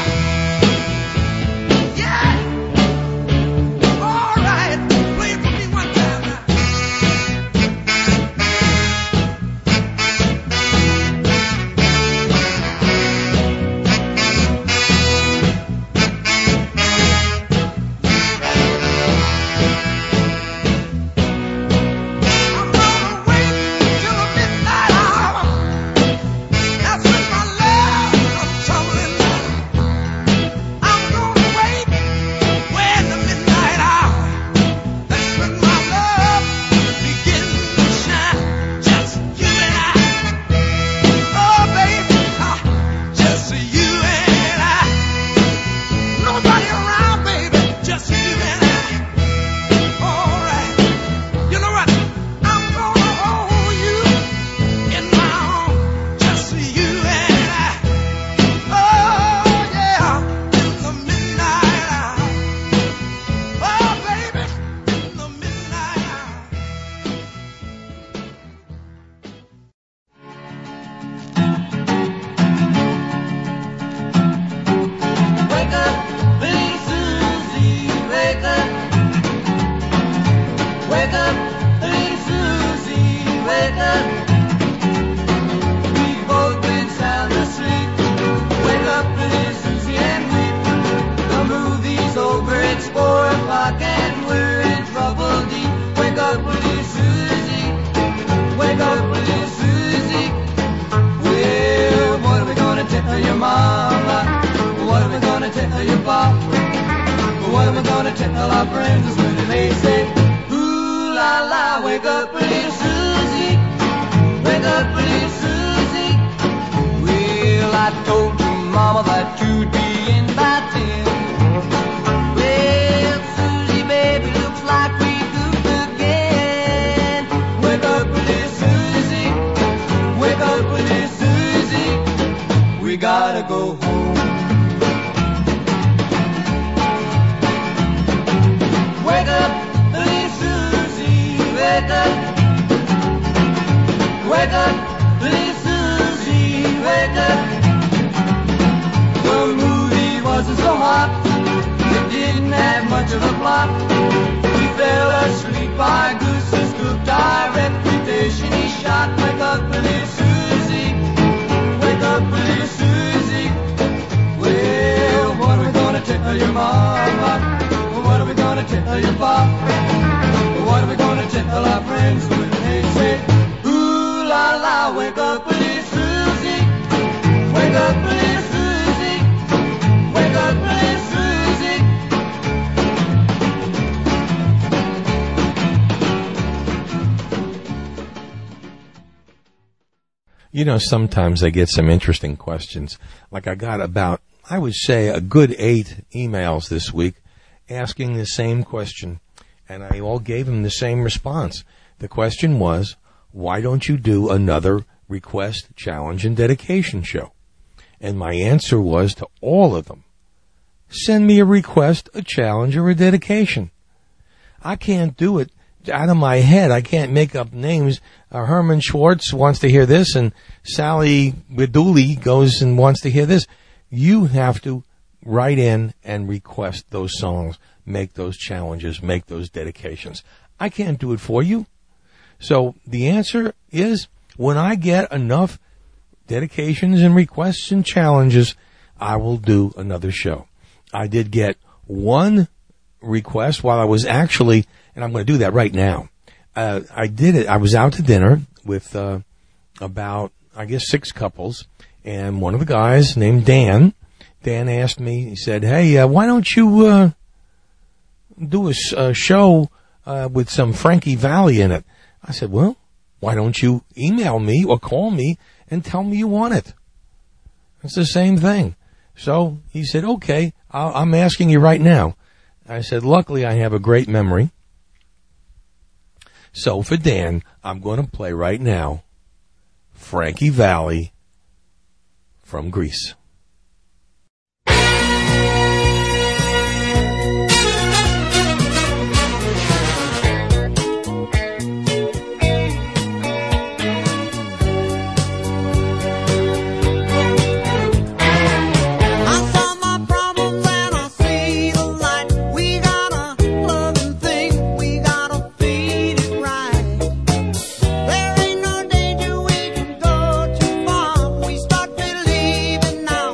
yeah. All right, play it for me one time now. I'm gonna wait till the midnight hour. That's when my love comes tumbling down. I'm gonna wait when the midnight hour. That's when my love begins to shine. Just you and I. Oh, baby, ah, just you and I. Nobody around, baby, just you and I. All right. You know what? I'm gonna hold you in my arms, just you and I. Oh yeah, in the midnight hour. Oh baby, in the midnight hour. Wake up, little Susie, wake up. Wake up, little Susie, wake up. We've both been sound asleep. Wake up, little Susie, and weep. The movie's over, it's four o'clock, and we're in trouble deep. Wake up, little Susie, wake up, little Susie. Well, what are we gonna tell your mama? What are we gonna tell your pop? What are we gonna tell our friends when they say, ooh la la, wake up, little Susie, wake up, little Susie. Well, I told your mama that you'd be in by ten. Well, Susie, baby, looks like we goofed again. Wake up, little Susie, wake up, little Susie. We gotta go home. Wake up, little Susie, wake up. Wake up, little Susie, wake up. The movie wasn't so hot, it didn't didn't have much of a plot. We fell asleep by gooses cooked our reputation. He shot, wake up, little Susie. Wake up, little Susie. Well, what are we gonna tell your mama? What are we gonna tell your pop? What are we gonna tell our friends when they say, ooh la la, wake up, little Susie. Wake up, little Susie. Wake up, little Susie. You know, sometimes I get some interesting questions. Like I got about, I would say, a good eight emails this week asking the same question, and I all gave him the same response. The question was, why don't you do another request, challenge, and dedication show? And my answer was to all of them, send me a request, a challenge, or a dedication. I can't do it out of my head. I can't make up names. Uh, Herman Schwartz wants to hear this, and Sally Beduli goes and wants to hear this. You have to write in and request those songs, make those challenges, make those dedications. I can't do it for you. So the answer is, when I get enough dedications and requests and challenges, I will do another show. I did get one request while I was actually, and I'm going to do that right now. Uh, I did it. I was out to dinner with uh, about, I guess, six couples, and one of the guys named Dan, Dan asked me, he said, hey, uh, why don't you uh, do a, a show uh, with some Frankie Valli in it? I said, well, why don't you email me or call me and tell me you want it? It's the same thing. So he said, okay, I'll, I'm asking you right now. I said, luckily I have a great memory. So for Dan, I'm going to play right now Frankie Valli from Grease. There ain't no danger we can go too far. We start believing now.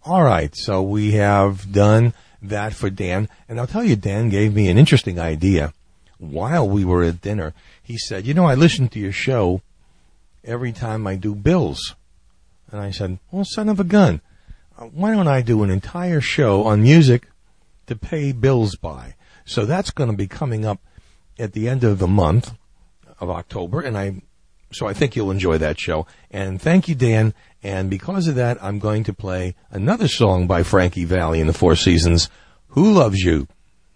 All right, so we have done that for Dan. And I'll tell you, Dan gave me an interesting idea while we were at dinner. He said, you know, I listen to your show every time I do bills. And I said, well, son of a gun, why don't I do an entire show on music to pay bills by? So that's going to be coming up at the end of the month of October, and I, so I think you'll enjoy that show. And thank you, Dan. And because of that, I'm going to play another song by Frankie Valli and the Four Seasons, Who Loves You?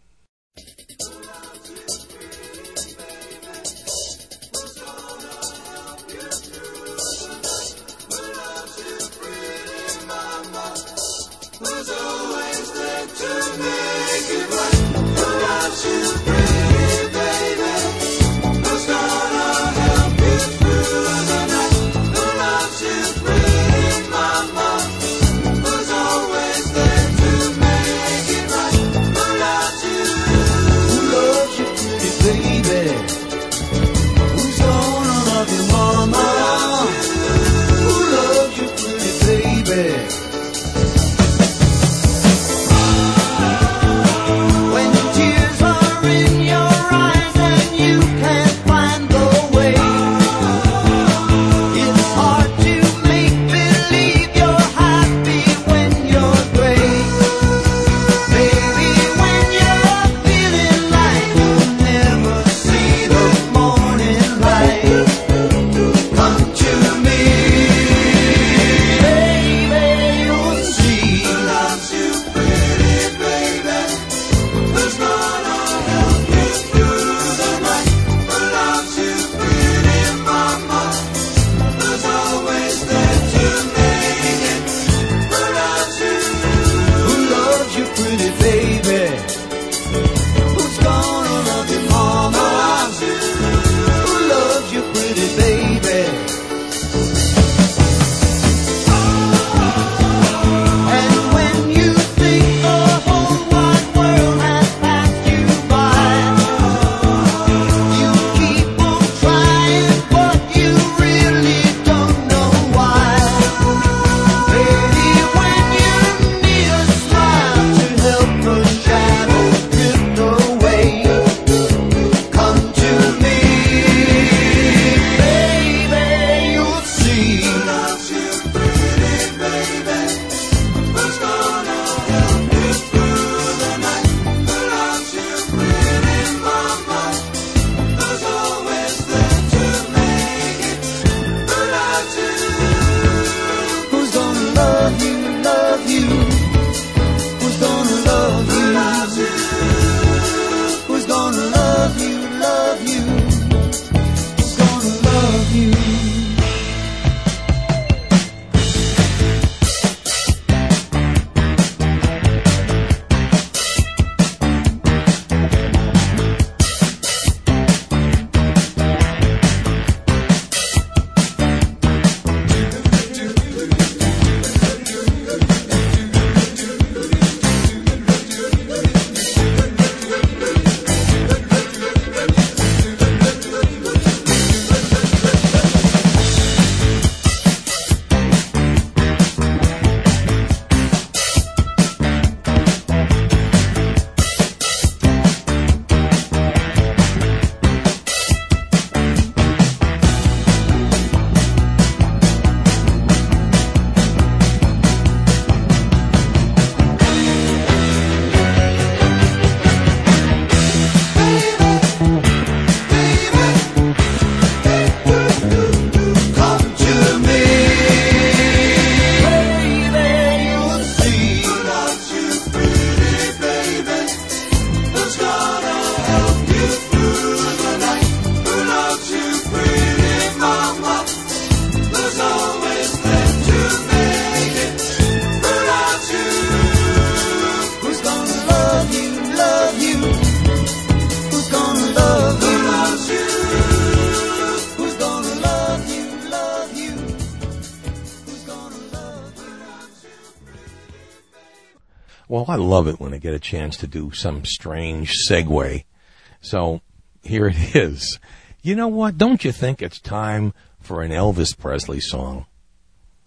Well, I love it when I get a chance to do some strange segue. So here it is. You know what? Don't you think it's time for an Elvis Presley song?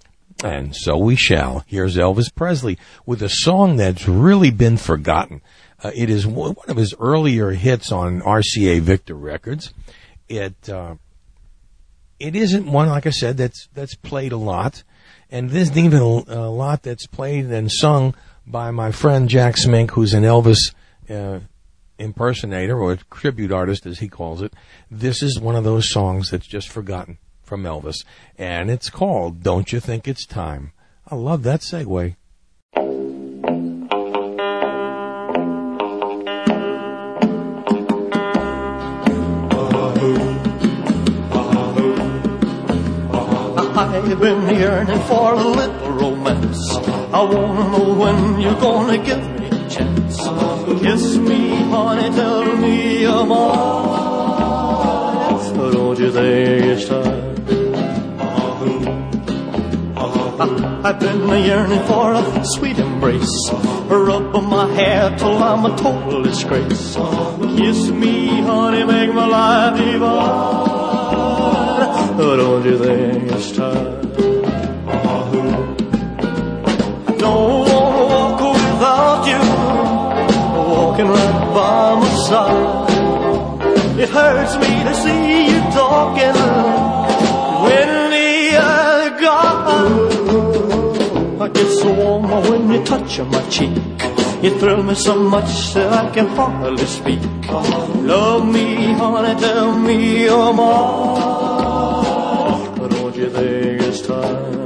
And so we shall. Here's Elvis Presley with a song that's really been forgotten. Uh, it is one of his earlier hits on R C A Victor Records. It uh, it isn't one, like I said, that's that's played a lot, and there isn't even a, a lot that's played and sung by my friend Jack Smink, who's an Elvis uh, impersonator or tribute artist, as he calls it. This is one of those songs that's just forgotten from Elvis, and it's called "Don't You Think It's Time." I love that segue. I've been yearning for a little romance. I wanna know when you're gonna give me a chance. Kiss me, honey, tell me you're mine. Don't you think it's time? I've been yearning for a sweet embrace. Rub my hair till I'm a total disgrace. Kiss me, honey, make my life divine. Don't you think it's time? I don't wanna walk without you, walking right by my side. It hurts me to see you talking when the other guy. I get so warm when you touch my cheek. You thrill me so much that I can hardly speak. Love me, honey, tell me you're mine. Don't you think it's time?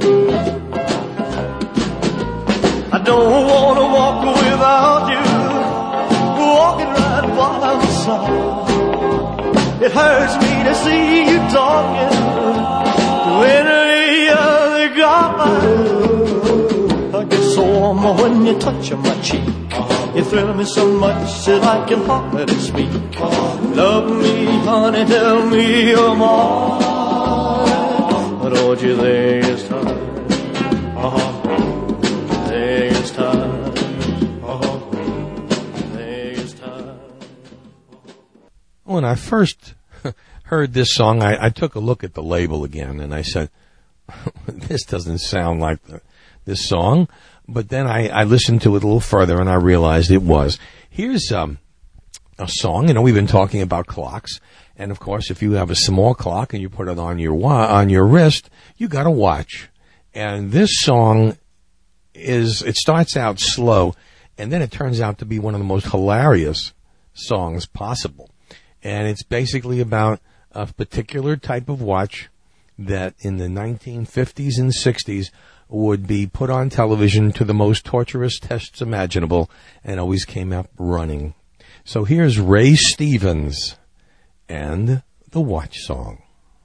I don't want to walk without you, walking right by my side. It hurts me to see you talking to any other guy. I get so warm when you touch my cheek. You thrill me so much that I can hardly speak. Love me, honey, tell me you're mine. Don't you think it's time? Uh-huh. Think it's time. Uh-huh. Think it's time. When I first heard this song, I, I took a look at the label again, and I said, this doesn't sound like the, this song. But then I, I listened to it a little further, and I realized it was. Here's um, a song. You know, we've been talking about clocks. And, of course, if you have a small clock and you put it on your wa- on your wrist, you got a watch. And this song is, it starts out slow, and then it turns out to be one of the most hilarious songs possible. And it's basically about a particular type of watch that in the nineteen fifties and sixties would be put on television to the most torturous tests imaginable and always came up running. So here's Ray Stevens and the Watch Song.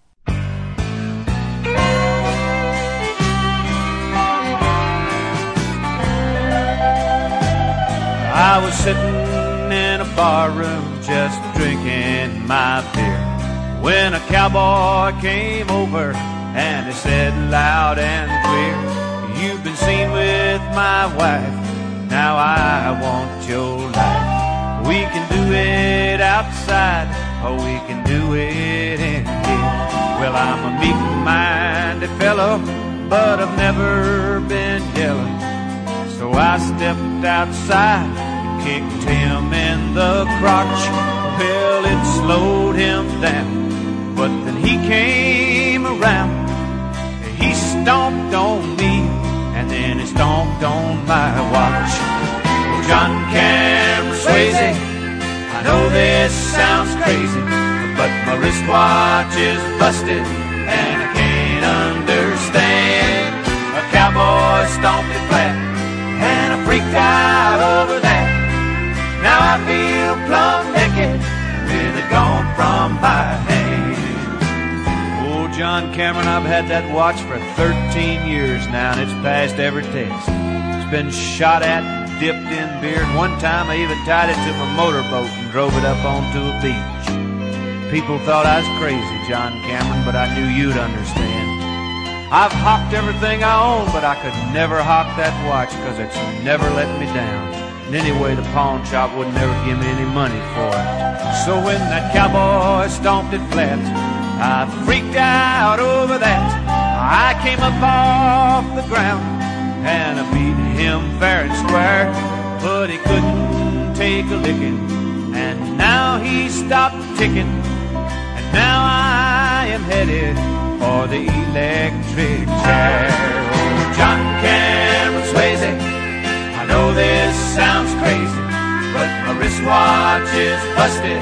I was sitting in a bar room just drinking my beer when a cowboy came over and he said loud and clear, "You've been seen with my wife, now I want your life. We can do it outside, or we can do it in here. Well, I'm a meek-minded fellow, but I've never been yellow. So I stepped outside and kicked him in the crotch. Well, it slowed him down, but then he came around. He stomped on me, and then he stomped on my watch. Well, John Cameron Swayze, I know this sounds crazy, but my wristwatch is busted and I can't understand. A cowboy stomped it flat and I freaked out over that. Now I feel plumb naked with it gone from my hand. Oh, John Cameron, I've had that watch for thirteen years now, and it's passed every test. It's been shot at, dipped in beer, and one time I even tied it to my motorboat and drove it up onto a beach. People thought I was crazy, John Cameron, but I knew you'd understand. I've hawked everything I own, but I could never hawk that watch, because it's never let me down. And anyway, the pawn shop would never give me any money for it. So when that cowboy stomped it flat, I freaked out over that. I I came up off the ground and I beat him fair and square, but he couldn't take a licking, and now he stopped ticking, and now I am headed for the electric chair. Oh, John Cameron Swayze, I know this sounds crazy, but my wristwatch is busted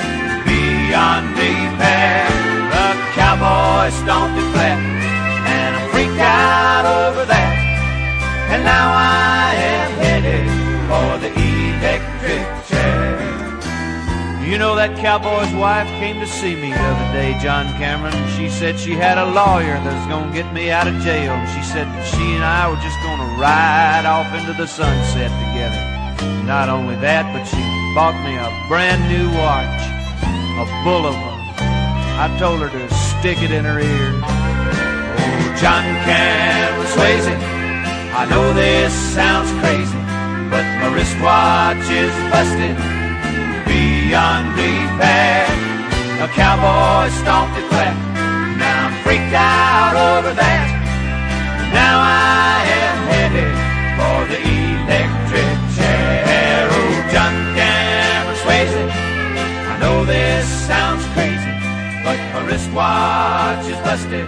beyond repair. The cowboy stomped it flat, and I freaked out over that, and now I am headed for the electric chair. You know, that cowboy's wife came to see me the other day, John Cameron. She said she had a lawyer that was going to get me out of jail. She said that she and I were just going to ride off into the sunset together. Not only that, but she bought me a brand new watch, a Bulova. I told her to stick it in her ear. Oh, John Cameron Swayze, I know this sounds crazy, but my wristwatch is busted beyond repair. A cowboy stomped it flat, now I'm freaked out over that. Now I am headed for the electric chair. Oh, John Cameron Swayze, I know this sounds crazy, but my wristwatch is busted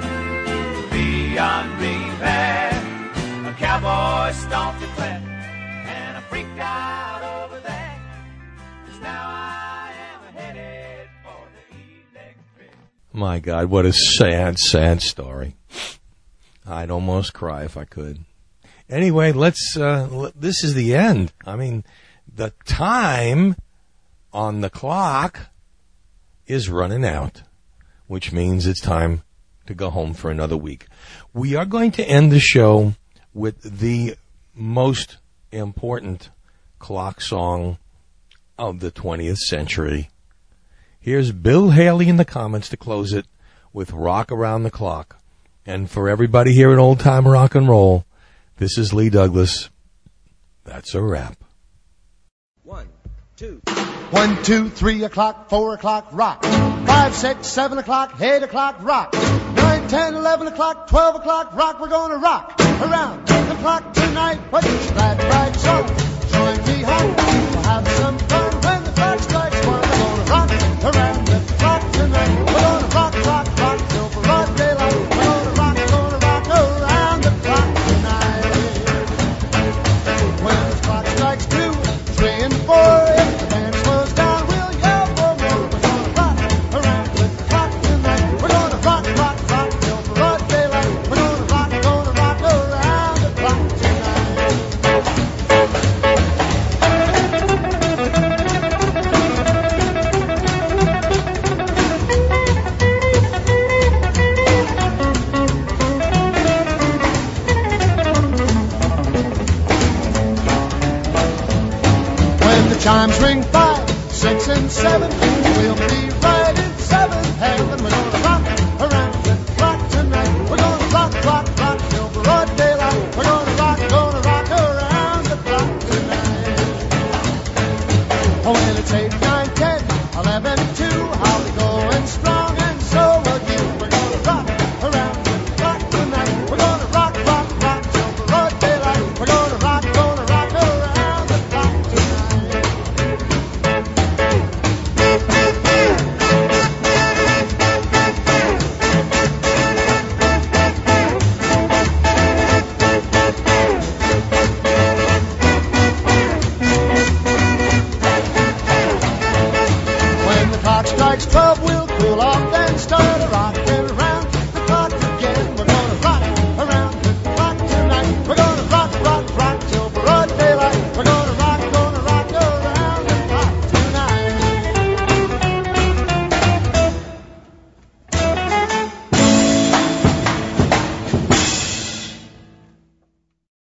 beyond repair. A cowboy stomped it flat, and I freaked out over that. 'Cause now I am headed for the electric. My God, what a sad, sad story. I'd almost cry if I could. Anyway, let's, uh, l- this is the end. I mean, the time on the clock is running out, which means it's time to go home for another week. We are going to end the show with the most important clock song of the twentieth century. Here's Bill Haley in the comments to close it with Rock Around the Clock. And for everybody here at Old Time Rock and Roll, this is Lee Douglas. That's a wrap. One, two. One, two, three o'clock, four o'clock, rock. Five, six, seven o'clock, eight o'clock, rock. Nine, ten, eleven o'clock, twelve o'clock, rock. We're gonna rock around the clock tonight. Put your glad rags on, join me home. We'll have some fun when the clock strikes one. We're gonna rock around the clock tonight. We're gonna rock, rock, rock till broad daylight. We're gonna rock, gonna rock around the clock tonight. When the clock strikes two, three, and four, if the band slows down, we'll yell for more. We're gonna rock around with the clock tonight. We're gonna rock, rock, rock till broad daylight. We're gonna rock, gonna rock around the clock tonight. When the chimes ring five, six, and seven, we'll be right in seventh heaven. We're gonna rock around the clock tonight. We're gonna rock, rock, rock till broad daylight. We're gonna rock, gonna rock around the clock tonight. Oh, when it's eight, nine, ten, eleven, two, I'll be going strong, and so will you. We're gonna rock around the clock tonight. We're gonna rock, rock, rock till broad daylight. We're gonna rock, gonna rock around the clock tonight. When the clock strikes twelve, we'll